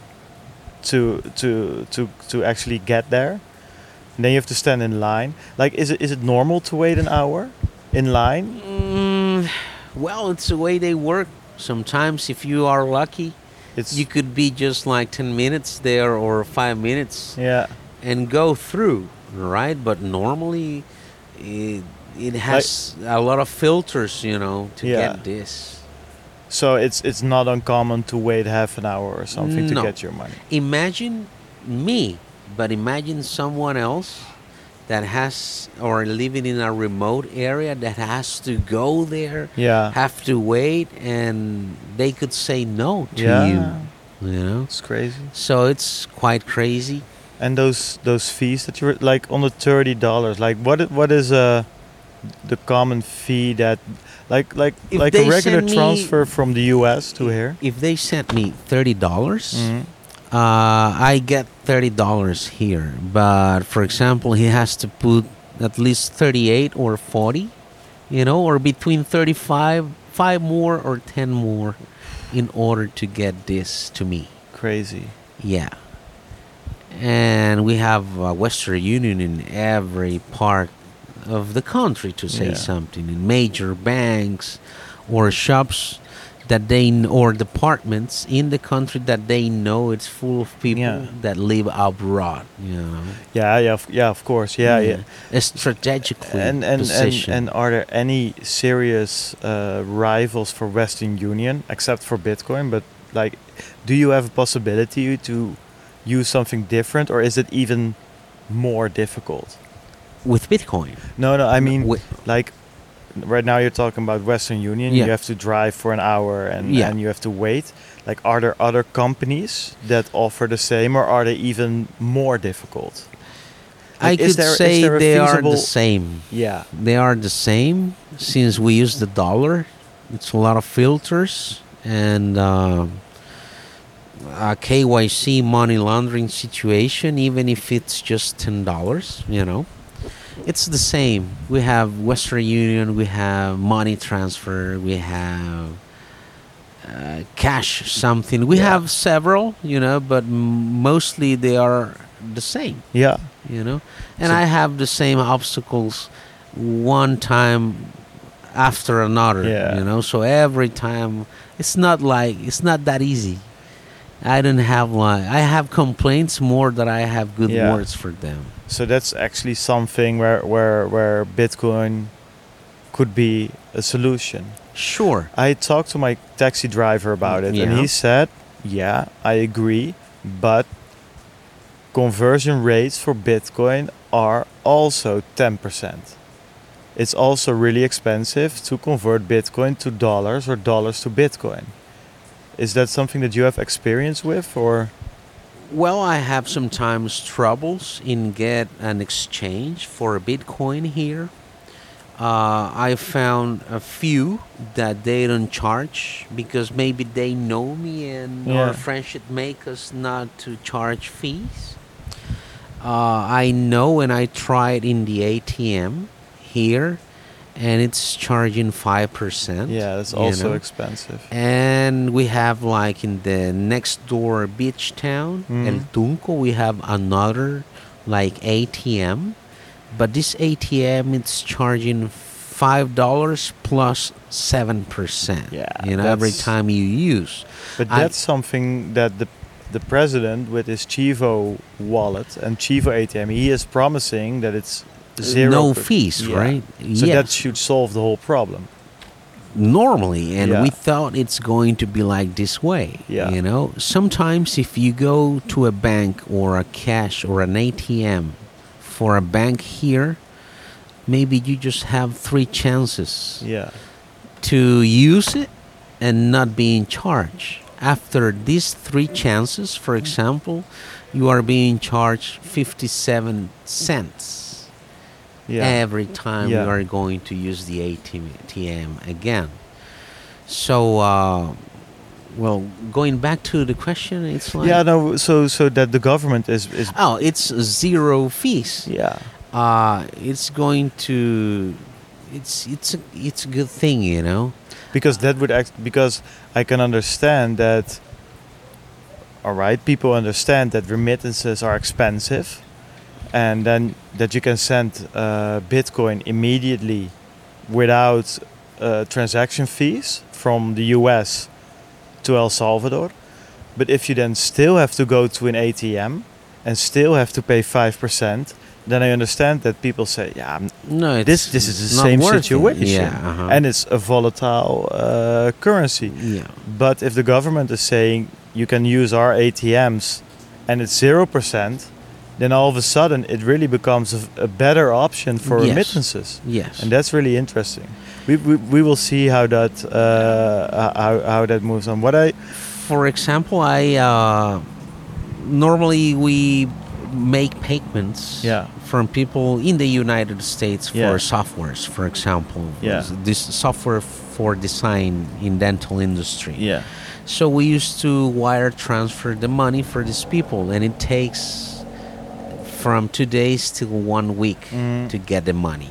to to to to actually get there. And then you have to stand in line. Like, is it is it normal to wait an hour in line? Mm, well, it's the way they work. Sometimes, if you are lucky, It's you could be just like ten minutes there or five minutes yeah. and go through, right? But normally, it, it has a lot of filters, you know, to Yeah. get this. So it's it's not uncommon to wait half an hour or something No. to get your money. Imagine me, but imagine someone else that has or living in a remote area that has to go there, Yeah. have to wait, and they could say no to Yeah. you, you know? It's crazy. So it's quite crazy. And those those fees that you were like on the thirty dollars. Like what i- what is uh the common fee that like like If like a they regular send me- transfer from the U S to here? If they sent me thirty dollars, Mhm. uh, I get thirty dollars here. But for example, he has to put at least thirty-eight or forty, you know, or between thirty-five, five more or ten more in order to get this to me. Crazy. Yeah. And we have uh, Western Union in every part of the country, to say Yeah. something, in major banks or shops that they kn- or departments in the country that they know it's full of people Yeah. that live abroad, you know. Yeah, yeah, of, yeah, of course. Yeah, yeah. It's strategically And and, and positioned. and are there any serious uh, rivals for Western Union except for Bitcoin? But like, do you have a possibility to use something different, or is it even more difficult? with Bitcoin. No, no. I mean, Wi- like, right now you're talking about Western Union. Yeah. You have to drive for an hour and Yeah. and you have to wait. Like, are there other companies that offer the same, or are they even more difficult? I Like, is could there- is say there a they are feasible- the same. Yeah. They are the same since we use the dollar. It's a lot of filters and uh, a K Y C money laundering situation, even if it's just ten dollars, you know. It's the same. We have Western Union, we have money transfer, we have uh, cash something. We Yeah. have several, you know, but m- mostly they are the same, Yeah. you know. And So- I have the same obstacles one time after another, Yeah. you know. So every time, it's not like it's not that easy. I don't have like I have complaints more than I have good Yeah. words for them. So that's actually something where where where Bitcoin could be a solution. Sure. I talked to my taxi driver about it, and Yeah. he said, "Yeah, I agree, but conversion rates for Bitcoin are also ten percent. It's also really expensive to convert Bitcoin to dollars or dollars to Bitcoin." Is that something that you have experience with, or? Well, I have sometimes troubles in get an exchange for a Bitcoin here. Uh, I found a few that they don't charge because maybe they know me and Yeah. our friendship make us not to charge fees. Uh, I know when I tried in the A T M here, and it's charging five percent. Yeah, that's you also know. expensive. And we have like in the next door beach town, Mm. El Tunco, we have another like A T M, but this A T M it's charging five dollars plus seven percent. Yeah, you know, every that's- time you use. But I- that's something that the the president with his Chivo wallet and Chivo A T M, he is promising that it's zero. No per- fees, Yeah. right? So Yes. that should solve the whole problem. normally, and Yeah. we thought it's going to be like this way. Yeah. You know, sometimes if you go to a bank or a cash or an A T M for a bank here, maybe you just have three chances Yeah. to use it and not being charged. After these three chances, for example, you are being charged fifty-seven cents Yeah. every time Yeah. you are going to use the A T M again. So, uh, well, going back to the question, it's like, Yeah. No. So so that the government is is oh, it's zero fees. yeah. Uh, it's going to, it's it's a, it's a good thing, you know. Because that would act because I can understand that. All right, people understand that remittances are expensive, and then that you can send uh, Bitcoin immediately without uh, transaction fees from the U S to El Salvador. But if you then still have to go to an A T M and still have to pay five percent, then I understand that people say, yeah, I'm- No, it's this this is the not same worth it. situation, Yeah, uh-huh. and it's a volatile uh, currency. yeah. But if the government is saying you can use our A T Ms and it's zero percent, then all of a sudden it really becomes a, a better option for Yes. remittances, Yes. and that's really interesting. We, we, we will see how that uh, how, how that moves on. What I For example, I uh, normally we make payments Yeah. from people in the United States for Yeah. softwares, for example. Yeah. This software for design in dental industry. yeah So we used to wire transfer the money for these people, and it takes from two days to one week Mhm. to get the money.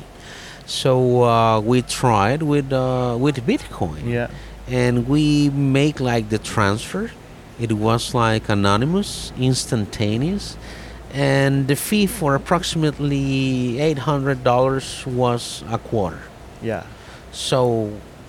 So uh, we tried with uh, with Bitcoin, yeah and we make like the transfer. It was like anonymous, instantaneous, and the fee for approximately eight hundred dollars was a quarter. yeah. So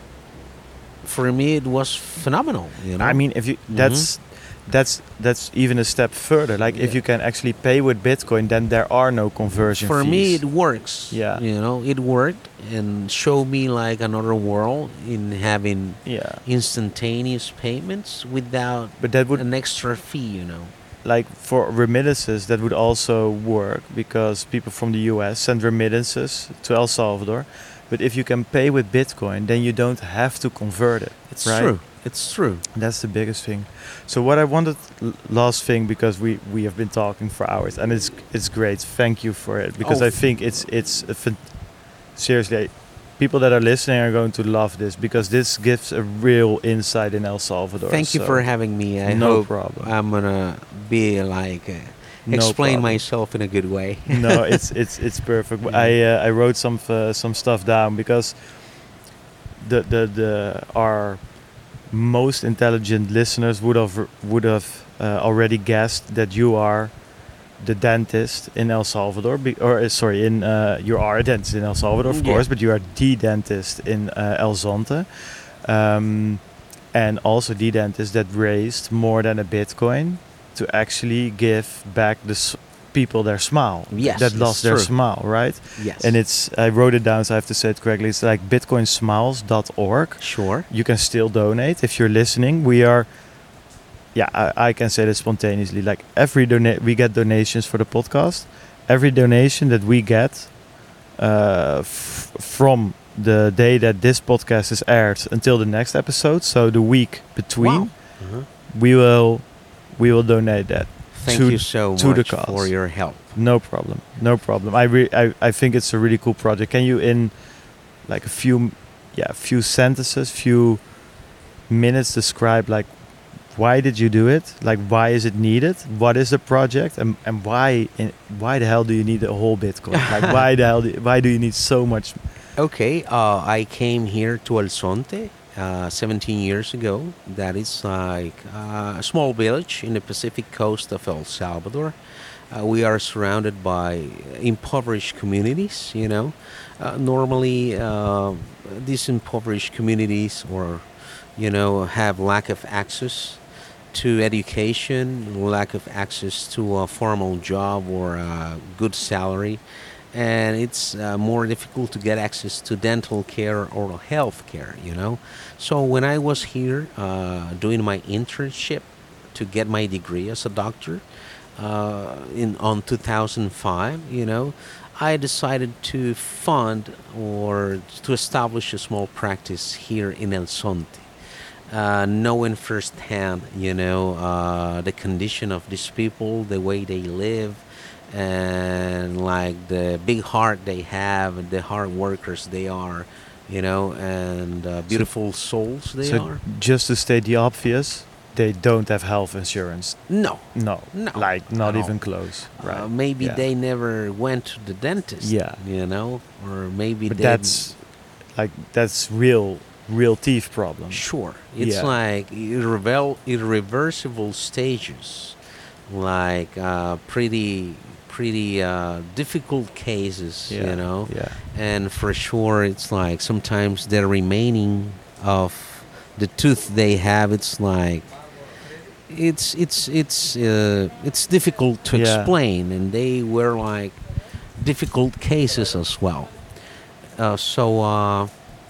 for me, it was phenomenal. You know, I mean, if you that's that's that's even a step further. Like if Yeah. you can actually pay with Bitcoin, then there are no conversion for fees. me it works. Yeah. You know, it worked and showed me like another world in having yeah, instantaneous payments without but that would an extra fee. You know. like for remittances that would also work because people from the U S send remittances to El Salvador. But if you can pay with Bitcoin, then you don't have to convert it. It's right? true. It's true. That's the biggest thing. So what I wanted, l- last thing, because we, we have been talking for hours, and it's it's great. Thank you for it, because Oh. I think it's it's a fan- seriously, I- people that are listening are going to love this, because this gives a real insight in El Salvador. Thank you So, for having me. I no hope problem. I'm gonna be like uh, No explain problem. myself in a good way. No, it's it's it's perfect. Yeah. I uh, I wrote some uh, some stuff down because the the the our most intelligent listeners would have would have uh, already guessed that you are the dentist in El Salvador, be, or uh, sorry, in uh, you are a dentist in El Salvador, of Yeah. course, but you are the dentist in uh, El Zonte, um, and also the dentist that raised more than a Bitcoin to actually give back the s- people their smile, Yes, that it's lost their true. smile, right? Yes. And it's I wrote it down, so I have to say it correctly. It's like bitcoin smiles dot org. Sure. You can still donate if you're listening. We are, yeah, I, I can say this spontaneously. Like every donate, we get donations for the podcast. Every donation that we get uh, f- from the day that this podcast is aired until the next episode, so the week between, Wow. Uh-huh. we will we will donate that. Thank to- you so to the much cause. for your help. No problem. No problem. I, re- I I think it's a really cool project. Can you, in like a few, yeah, few sentences, few minutes, describe like why did you do it? Like why is it needed? What is the project? And and why in, why the hell do you need a whole Bitcoin? Like why the hell do, why do you need so much? Okay, uh, I came here to El Zonte uh, seventeen years ago. That is like uh, a small village in the Pacific coast of El Salvador. Uh, we are surrounded by impoverished communities, you know. Uh, normally, uh, these impoverished communities or, you know, have lack of access to education, lack of access to a formal job or a good salary. and it's uh, more difficult to get access to dental care or health care, you know. So when I was here uh, doing my internship to get my degree as a doctor uh, in on two thousand five, you know, I decided to fund or to establish a small practice here in El Zonte, uh, knowing firsthand, you know, uh, the condition of these people, the way they live, and like the big heart they have, and the hard workers they are, you know, and uh, beautiful souls they So are. just to state the obvious, they don't have health insurance. No, No, No, like not at even all. close. Right? uh, maybe Yeah. they never went to the dentist. Yeah. you know, or maybe But they. that's like that's real, real teeth problem. Sure. It's Yeah. like irrevel- irreversible stages, like uh, pretty, pretty uh, difficult cases, Yeah. you know. Yeah. And for sure, it's like sometimes the remaining of the tooth they have, it's like it's it's it's uh, it's difficult to Yeah. explain, and they were like difficult cases as well. Uh, so. Uh,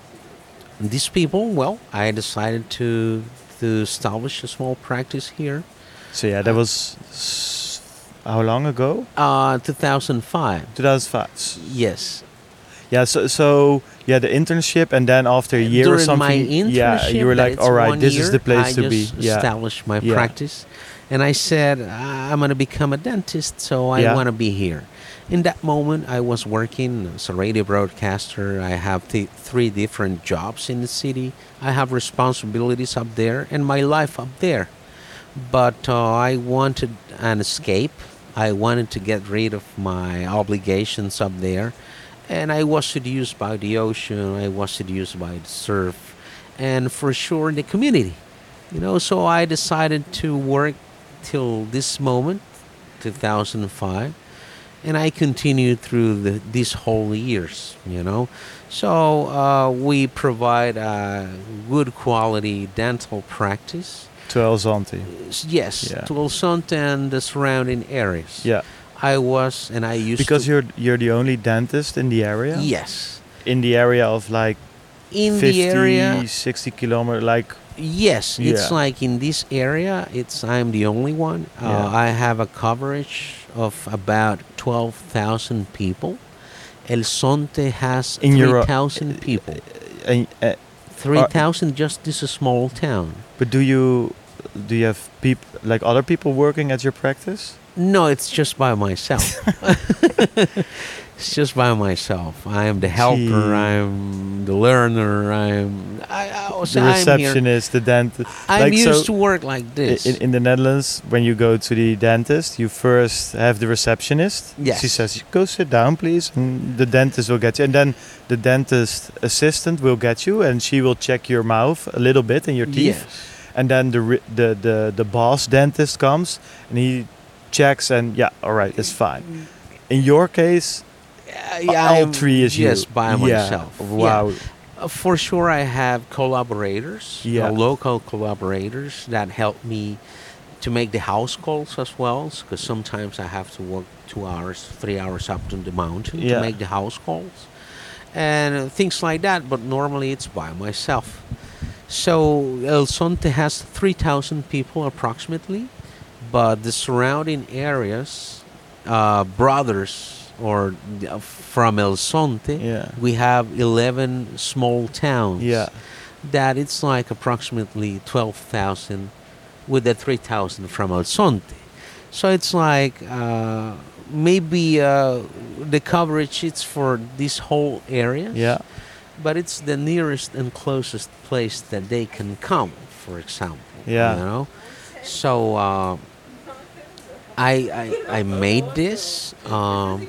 These people, well, I decided to to establish a small practice here. So yeah, that was s- how long ago? Uh, two thousand five. two thousand five. Yes. Yeah. So so yeah, the internship, and then after a year During or something, my internship, yeah, you were that like, it's all right, one this year, is the place I to be. just Yeah. established my Yeah. practice, and I said "I- I'm going to become a dentist, so I Yeah. want to be here. In that moment, I was working as a radio broadcaster. I have th- three different jobs in the city. I have responsibilities up there and my life up there. But uh, I wanted an escape. I wanted to get rid of my obligations up there. And I was seduced by the ocean. I was seduced by the surf. And for sure, the community. You know, so I decided to work till this moment, two thousand five. And I continued through the, these whole years, you know. So uh, we provide a good quality dental practice. To El Zonte. S- Yes, Yeah. to El Zonte and the surrounding areas. Yeah. I was, and I used Because to. you're you're the only dentist in the area. Yes. In the area of like In fifty, the area, sixty kilometer, like yes, it's Yeah. like in this area, it's I'm the only one. Uh, Yeah. I have a coverage of about twelve thousand people. El Zonte has In your- three thousand people. and, uh, three thousand just this a small town. but do you do you have people like other people working at your practice? No, it's just by myself. It's just by myself. I am the helper. Gee. I'm the learner. I'm. I, I was, The I'm here. receptionist, the dentist. I'm like, used so to work like i- this. In, in the Netherlands, when you go to the dentist, you first have the receptionist. Yes. She says, "Go sit down, please," and the dentist will get you. And then the dentist assistant will get you, and she will check your mouth a little bit and your teeth. Yes. And then the ri- the the the boss dentist comes and he checks and yeah, all right, it's fine. In your case, Uh, yeah, all I'm three is you. just by Yeah. myself. Wow. Yeah. Uh, for sure, I have collaborators, Yeah. uh, local collaborators that help me to make the house calls as well. Because sometimes I have to walk two hours, three hours up to the mountain Yeah. to make the house calls, and uh, things like that. But normally, it's by myself. So El Zonte has three thousand people approximately, but the surrounding areas, uh, brothers or uh, from El Zonte, Yeah. we have eleven small towns. Yeah. That it's like approximately twelve thousand with the three thousand from El Zonte. So it's like uh, maybe uh, the coverage it's for this whole area. Yeah. But it's the nearest and closest place that they can come, for example. Yeah. You know? So uh, I, I I made this. Um,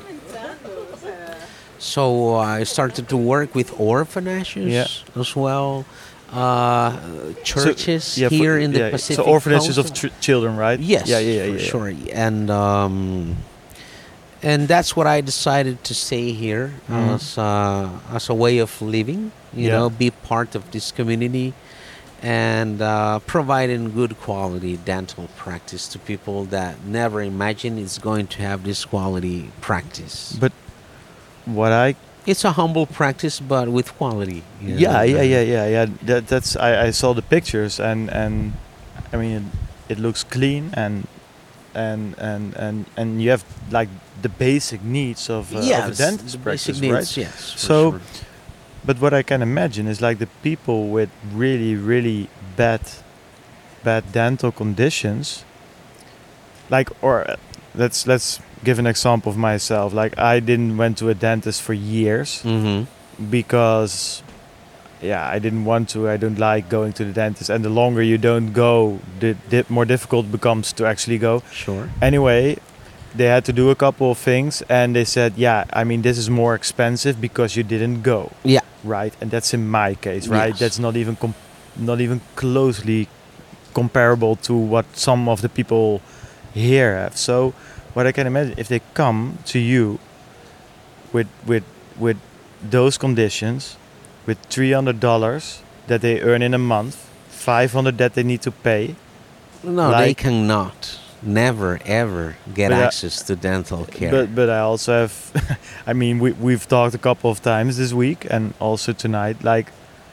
so I started to work with orphanages Yeah. as well, uh, churches So, yeah, for- here in the yeah, Pacific. So orphanages Coast. of tr- children, right? Yes, Yeah, yeah, yeah, for yeah. sure. And um, and that's what I decided to stay here Mhm. as uh, as a way of living. You Yeah. know, be part of this community and uh, providing good quality dental practice to people that never imagined it's going to have this quality practice. But what I It's a humble practice, but with quality. You know? yeah yeah yeah yeah yeah that that's I, I saw the pictures and and I mean it, it looks clean and and and and and you have like the basic needs of, uh, of a Yes, dentist the practice, basic right? needs. Yes, for So, sure. but what I can imagine is like the people with really really bad bad dental conditions, like or uh, let's let's give an example of myself. Like I didn't went to a dentist for years Mm-hmm. because yeah, I didn't want to. I don't like going to the dentist, and the longer you don't go, the, the more difficult it becomes to actually go. Sure. Anyway, they had to do a couple of things, and they said, "Yeah, I mean, this is more expensive because you didn't go, Yeah. right?" And that's in my case, right? Yes. That's not even com- not even closely comparable to what some of the people here have. So, what I can imagine, if they come to you with with with those conditions, with three hundred dollars that they earn in a month, five hundred that they need to pay. No, they Like- cannot, never, ever get But, uh, access to dental care. But but I also have, I mean, we we've talked a couple of times this week and also tonight. Like,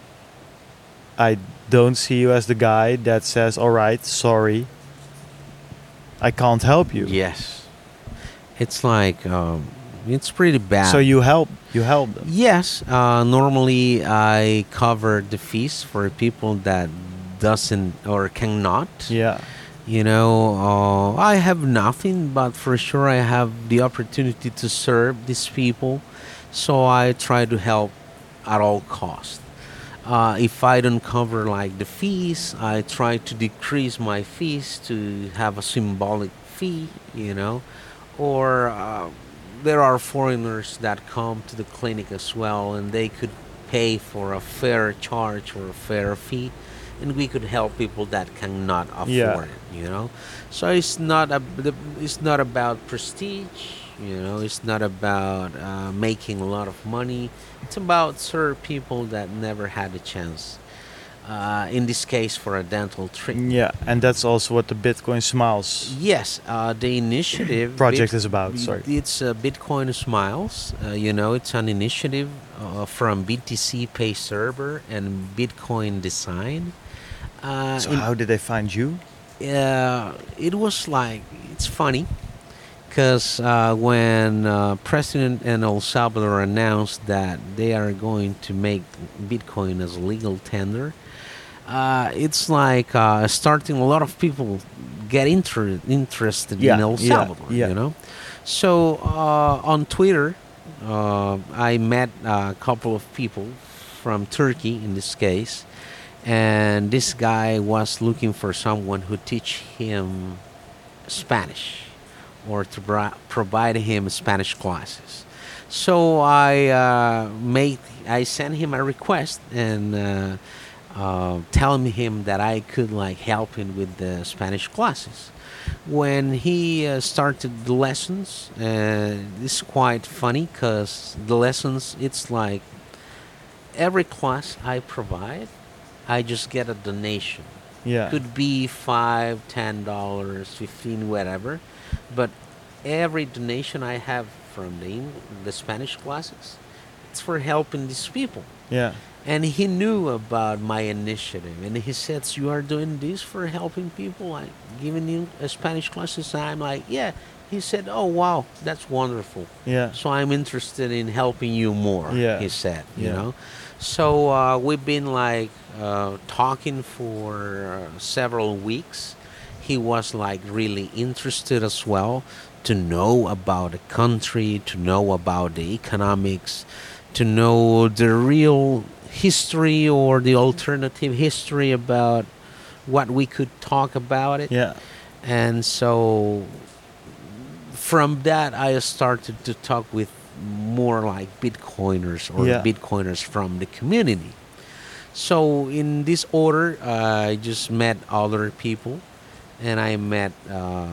I don't see you as the guy that says, "All right, sorry, I can't help you." Yes. It's like, um, it's pretty bad. So you help you help them. Yes, uh, normally I cover the fees for people that doesn't or cannot. Yeah. You know, uh, I have nothing, but for sure I have the opportunity to serve these people, so I try to help at all costs. Uh, if I don't cover like the fees, I try to decrease my fees to have a symbolic fee, you know, or uh, there are foreigners that come to the clinic as well, and they could pay for a fair charge or a fair fee, and we could help people that cannot afford Yeah. it, you know. So it's not a, the- it's not about prestige, you know. It's not about uh, making a lot of money. It's about serve people that never had a chance. Uh, in this case, for a dental treatment. Yeah, and that's also what the Bitcoin Smiles Yes, uh, the initiative project Bit- is about. Sorry. It's uh, Bitcoin Smiles. Uh, you know, it's an initiative uh, from B T C Pay Server and Bitcoin Design. Uh, So in- how did they find you? uh, it was like it's funny because uh, when uh, President in El Salvador announced that they are going to make Bitcoin as a legal tender, uh, it's like uh, starting a lot of people get inter- interested Yeah, in El yeah, Salvador. yeah. You know, so uh, on Twitter, uh, I met a couple of people from Turkey in this case, and this guy was looking for someone who teach him Spanish or to bri- provide him Spanish classes. So I uh, made I sent him a request and uh, uh, telling him that I could like help him with the Spanish classes. When he uh, started the lessons, uh, it's quite funny because the lessons it's like every class I provide, I just get a donation. Yeah. Could be five, ten dollars, fifteen, whatever. But every donation I have from the Eng- the Spanish classes, it's for helping these people. Yeah. And he knew about my initiative, and he said, "You are doing this for helping people, like giving you a Spanish classes." And I'm like, "Yeah." He said, "Oh wow, that's wonderful. Yeah. So I'm interested in helping you more." Yeah. He said, "You Yeah. know." So uh, we've been like uh, talking for uh, several weeks. He was like really interested as well to know about the country, to know about the economics, to know the real history or the alternative history about what we could talk about it. Yeah. And so from that, I started to talk with more like Bitcoiners or Yeah. Bitcoiners from the community. So in this order, uh, I just met other people, and I met uh,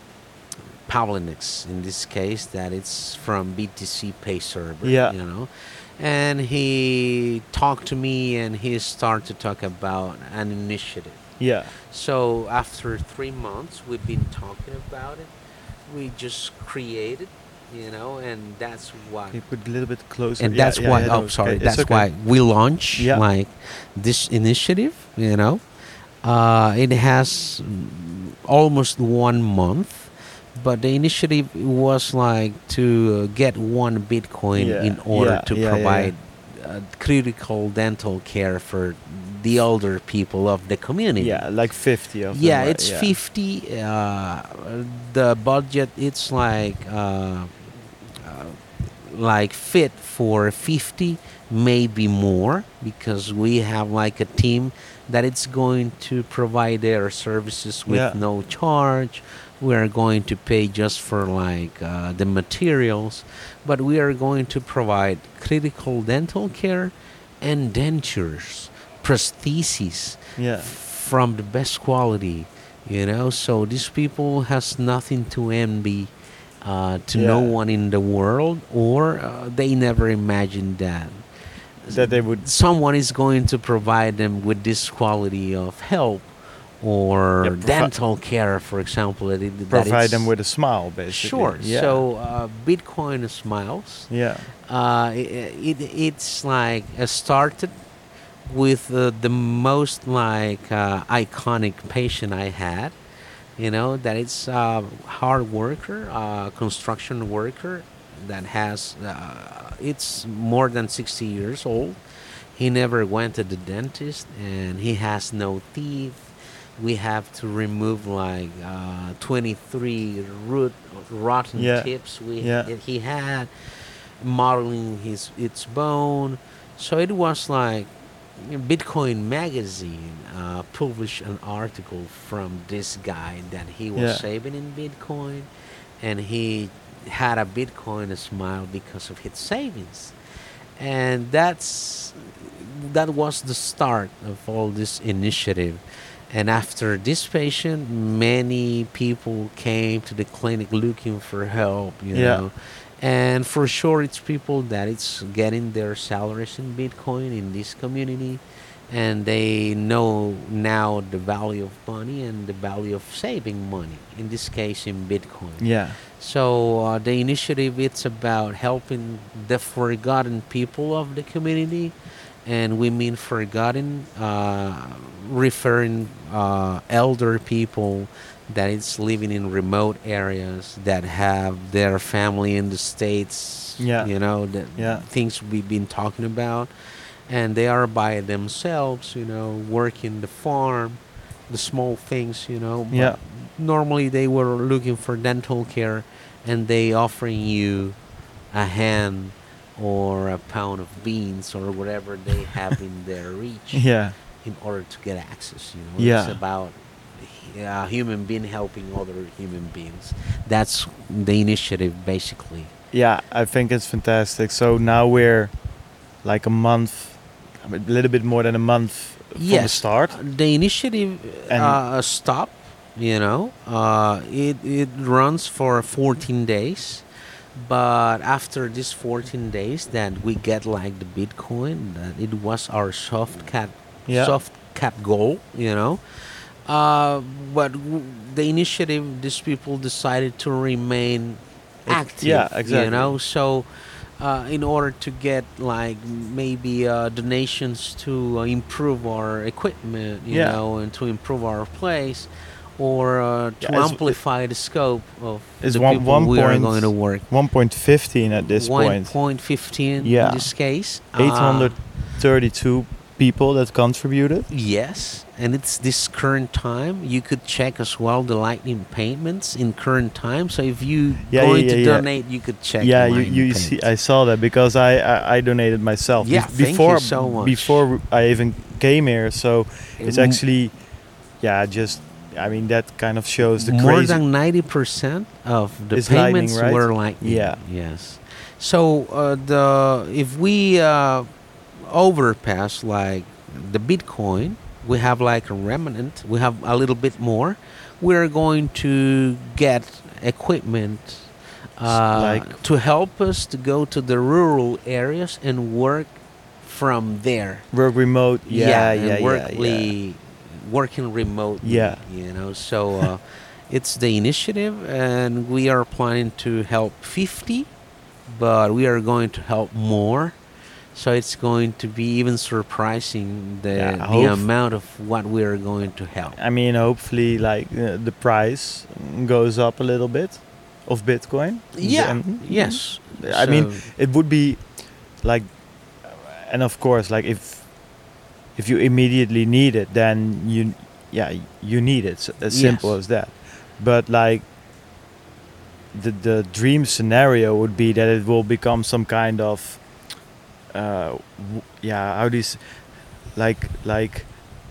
Pavlinix in this case, that it's from B T C Pay Server. Yeah. You know, and he talked to me, and he started to talk about an initiative. Yeah. So after three months, we've been talking about it. We just created you know, and that's why. Can you put a little bit closer? And Yeah, that's yeah, why. yeah, Oh, no, sorry. okay, it's That's okay. why we launch Yeah. like this initiative. You know, uh, it has mm, almost one month, but the initiative was like to uh, get one Bitcoin Yeah, in order yeah, to yeah, yeah, yeah. provide uh, critical dental care for the older people of the community. Yeah, like fifty of them. Yeah, right? it's fifty. Uh, the budget it's like uh, uh, like fit for fifty, maybe more, because we have like a team that it's going to provide their services with Yeah. no charge. We are going to pay just for like uh, the materials, but we are going to provide critical dental care and dentures, prostheses Yeah. from the best quality, you know. So these people has nothing to envy uh, to no Yeah. one in the world, or uh, they never imagined that That they would someone is going to provide them with this quality of help or Yeah, provi- dental care, for example. That it, that provide it's- them with a smile, basically. Sure. Yeah. So uh, Bitcoin Smiles. Yeah. Uh, it, it it's like uh, started with uh, the most like uh, iconic patient I had. You know that it's a hard worker, uh, construction worker that has uh, it's more than sixty years old. He never went to the dentist, and he has no teeth. We have to remove like uh, twenty-three root rotten Yeah. tips we Yeah. that he had, modeling his its bone. So it was like Bitcoin Magazine uh, published an article from this guy that he was Yeah. saving in Bitcoin, and he had a Bitcoin smile because of his savings, and that's that was the start of all this initiative. And after this patient, many people came to the clinic looking for help, you Yeah. know. And for sure, it's people that it's getting their salaries in Bitcoin in this community, and they know now the value of money and the value of saving money. In this case, in Bitcoin. Yeah. So uh, the initiative it's about helping the forgotten people of the community, and we mean forgotten, uh, referring uh, elder people that is living in remote areas that have their family in the states. Yeah. You know the Yeah. things we've been talking about, and they are by themselves. You know, working the farm, the small things. You know. But Yeah. normally they were looking for dental care, and they offering you a hand or a pound of beans or whatever they have in their reach Yeah. in order to get access. You know, Yeah. it's about a human being helping other human beings. That's the initiative, basically. Yeah. I think it's fantastic. So now we're like a month, a little bit more than a month from the Yes, start. the initiative And- uh, stopped. You know, uh, it it runs for fourteen days, but after these fourteen days, that we get like the Bitcoin. That it was our soft cap, Yeah. soft cap goal. You know, uh, but w- the initiative, these people decided to remain It- active. yeah, exactly. You know, so. Uh, in order to get like maybe uh, donations to uh, improve our equipment, you Yeah. know, and to improve our place, or uh, to Yeah, it's- amplify the scope of It's the one- people one we are point- going to work. one point one five at this one point. point fifteen Yeah. in this case. eight hundred Uh, thirty-two people that contributed. yes, and it's this current time. You could check as well the lightning payments in current time. So if you Yeah, going yeah, to yeah, yeah. donate, you could check. Yeah, the you, lightning you see, payments. I saw that because I, I, I donated myself. Yeah, Bef- thank you before, so much. Before I even came here, so it's Mm, actually, yeah, just, I mean, that kind of shows the more crazy. than ninety percent of the Is lightning, payments right? were lightning. Yeah. Yes. So uh, the if we uh, overpass like the Bitcoin, we have like a remnant. We have a little bit more. We're going to get equipment uh, like- to help us to go to the rural areas and work from there. Work remote. Yeah, yeah, and yeah, work yeah. le- working remotely. Yeah. You know, so uh, It's the initiative, and we are planning to help fifty, but we are going to help more. So it's going to be even surprising the Yeah, the hope- amount of what we are going to help. I mean, hopefully, like uh, the price goes up a little bit of Bitcoin. Yeah. And- Yes. I mean, So- it would be like, and of course, like if if you immediately need it, then you, yeah, you need it. So as simple Yes. as that. But like, the the dream scenario would be that it will become some kind of, uh, w- yeah, how these, like like,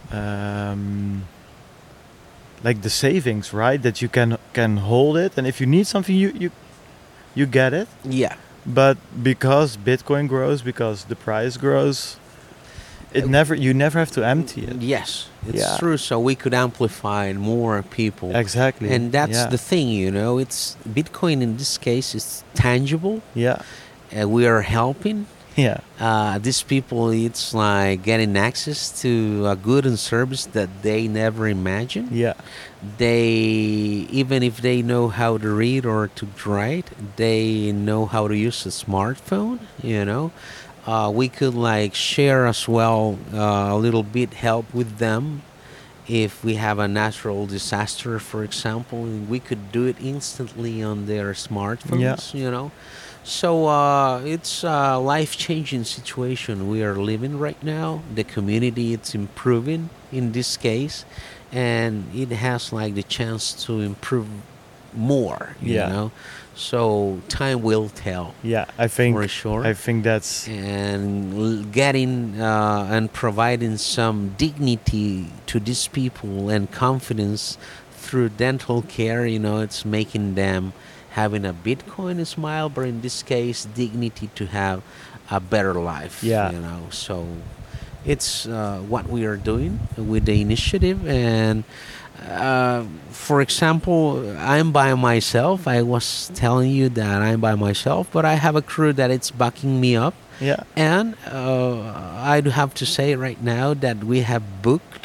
um, like the savings, right? That you can can hold it, and if you need something, you you you get it. yeah. But because Bitcoin grows, because the price grows, it Uh, never you never have to empty it. Yes, it's Yeah. true. So we could amplify more people. Exactly. And that's yeah. the thing, you know, it's Bitcoin in this case is tangible. yeah Uh, we are helping yeah uh, these people. It's like getting access to a good and service that they never imagined. yeah They, even if they know how to read or to write, they know how to use a smartphone, you know. Uh, we could like share as well uh, a little bit help with them if we have a natural disaster, for example, and we could do it instantly on their smartphones, you know. So uh, it's a life-changing situation we are living right now. The community, it's improving in this case, and it has like the chance to improve more, you Yeah. know. So time will tell yeah I think for sure. I think that's And l- getting uh, and providing some dignity to these people and confidence through dental care, you know, it's making them having a Bitcoin smile, but in this case, dignity to have a better life. Yeah. You know, so it's uh, what we are doing with the initiative. And uh, for example, I'm by myself. I was telling you that I'm by myself, but I have a crew that it's backing me up. yeah And uh, I do have to say right now that we have booked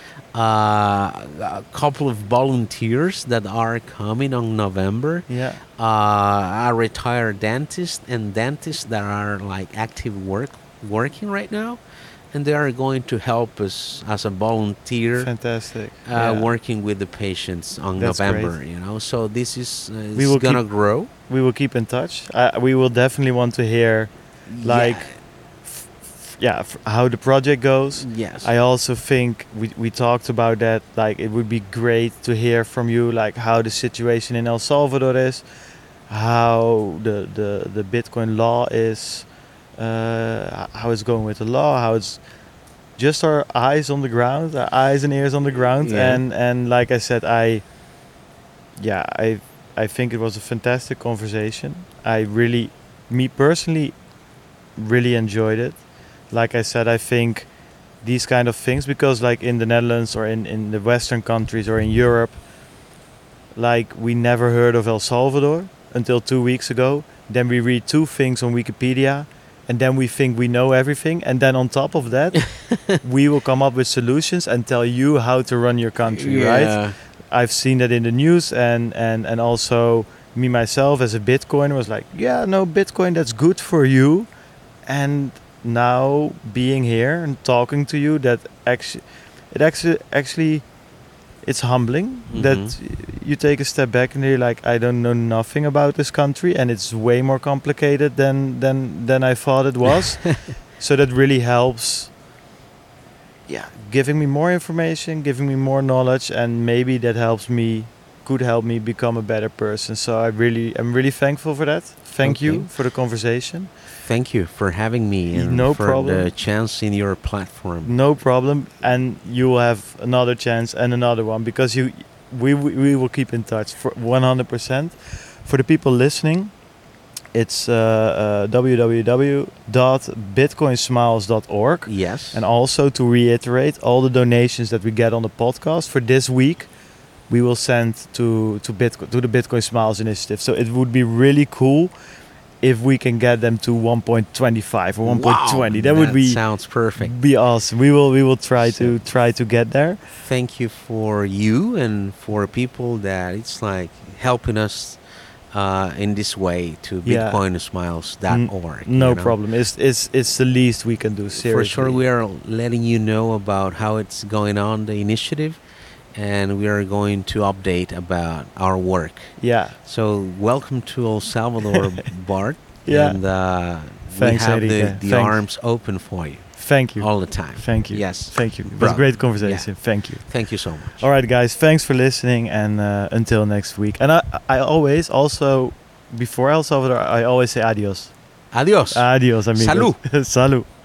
uh, a couple of volunteers that are coming on November. yeah Uh, a retired dentist and dentists that are like active work working right now, and they are going to help us as a volunteer. fantastic Uh, yeah. working with the patients on That's November, great. you know. So this is uh, We is will gonna keep- grow. We will keep in touch. uh, we will definitely want to hear like yeah f- how the project goes. Yeah. Yes. I also think we, we talked about that, like it would be great to hear from you like how the situation in El Salvador is, how the the, the Bitcoin law is, uh, how it's going with the law, how it's just our eyes on the ground, our eyes and ears on the ground. Yeah. and and like I said, I yeah I I think it was a fantastic conversation. I really, me personally, really enjoyed it. Like I said, I think these kind of things, because like in the Netherlands or in, in the Western countries or in Europe, like we never heard of El Salvador until two weeks ago. Then we read two things on Wikipedia, and then we think we know everything. And then on top of that, we will come up with solutions and tell you how to run your country, right? Yeah. I've seen that in the news, and, and, and also me myself as a Bitcoiner was like, yeah, no, Bitcoin, that's good for you. And now being here and talking to you, that actually, it actually, actually, it's humbling that Mhm. you take a step back and you're like, I don't know nothing about this country, and it's way more complicated than than than I thought it was. So that really helps. Yeah, giving me more information, giving me more knowledge, and maybe that helps me, could help me become a better person. So I really, I'm really thankful for that. Thank you Okay. for the conversation. Thank you for having me and No for problem. the chance in your platform. No problem, and you will have another chance and another one, because you, we we we will keep in touch for one hundred percent. For the people listening, it's uh, uh, w w w dot bitcoin smiles dot org. Yes. And also to reiterate, all the donations that we get on the podcast for this week, we will send to to Bitcoin, to the Bitcoin Smiles initiative. So it would be really cool if we can get them to one point two five or one point two zero, Wow, that would be sounds perfect. be awesome. We will we will try So- to try to get there. Thank you for you and for people that it's like helping us uh, in this way to Yeah. bitcoin smiles dot org. No you know? problem. It's it's it's the least we can do. Seriously. For sure, we are letting you know about how it's going on, the initiative, and we are going to update about our work. Yeah. So, welcome to El Salvador, Bart. Yeah. And uh, Thanks, we have the, Enrique. the Thanks. arms open for you Thank you. all the time. Thank you. Yes. Thank you. It was a Brother. great conversation. Thank you. Thank you so much. All right, guys. Thanks for listening, and uh, until next week. And I I always also before El Salvador I always say adios. Adios. Adios, amigos. Salud. Salud.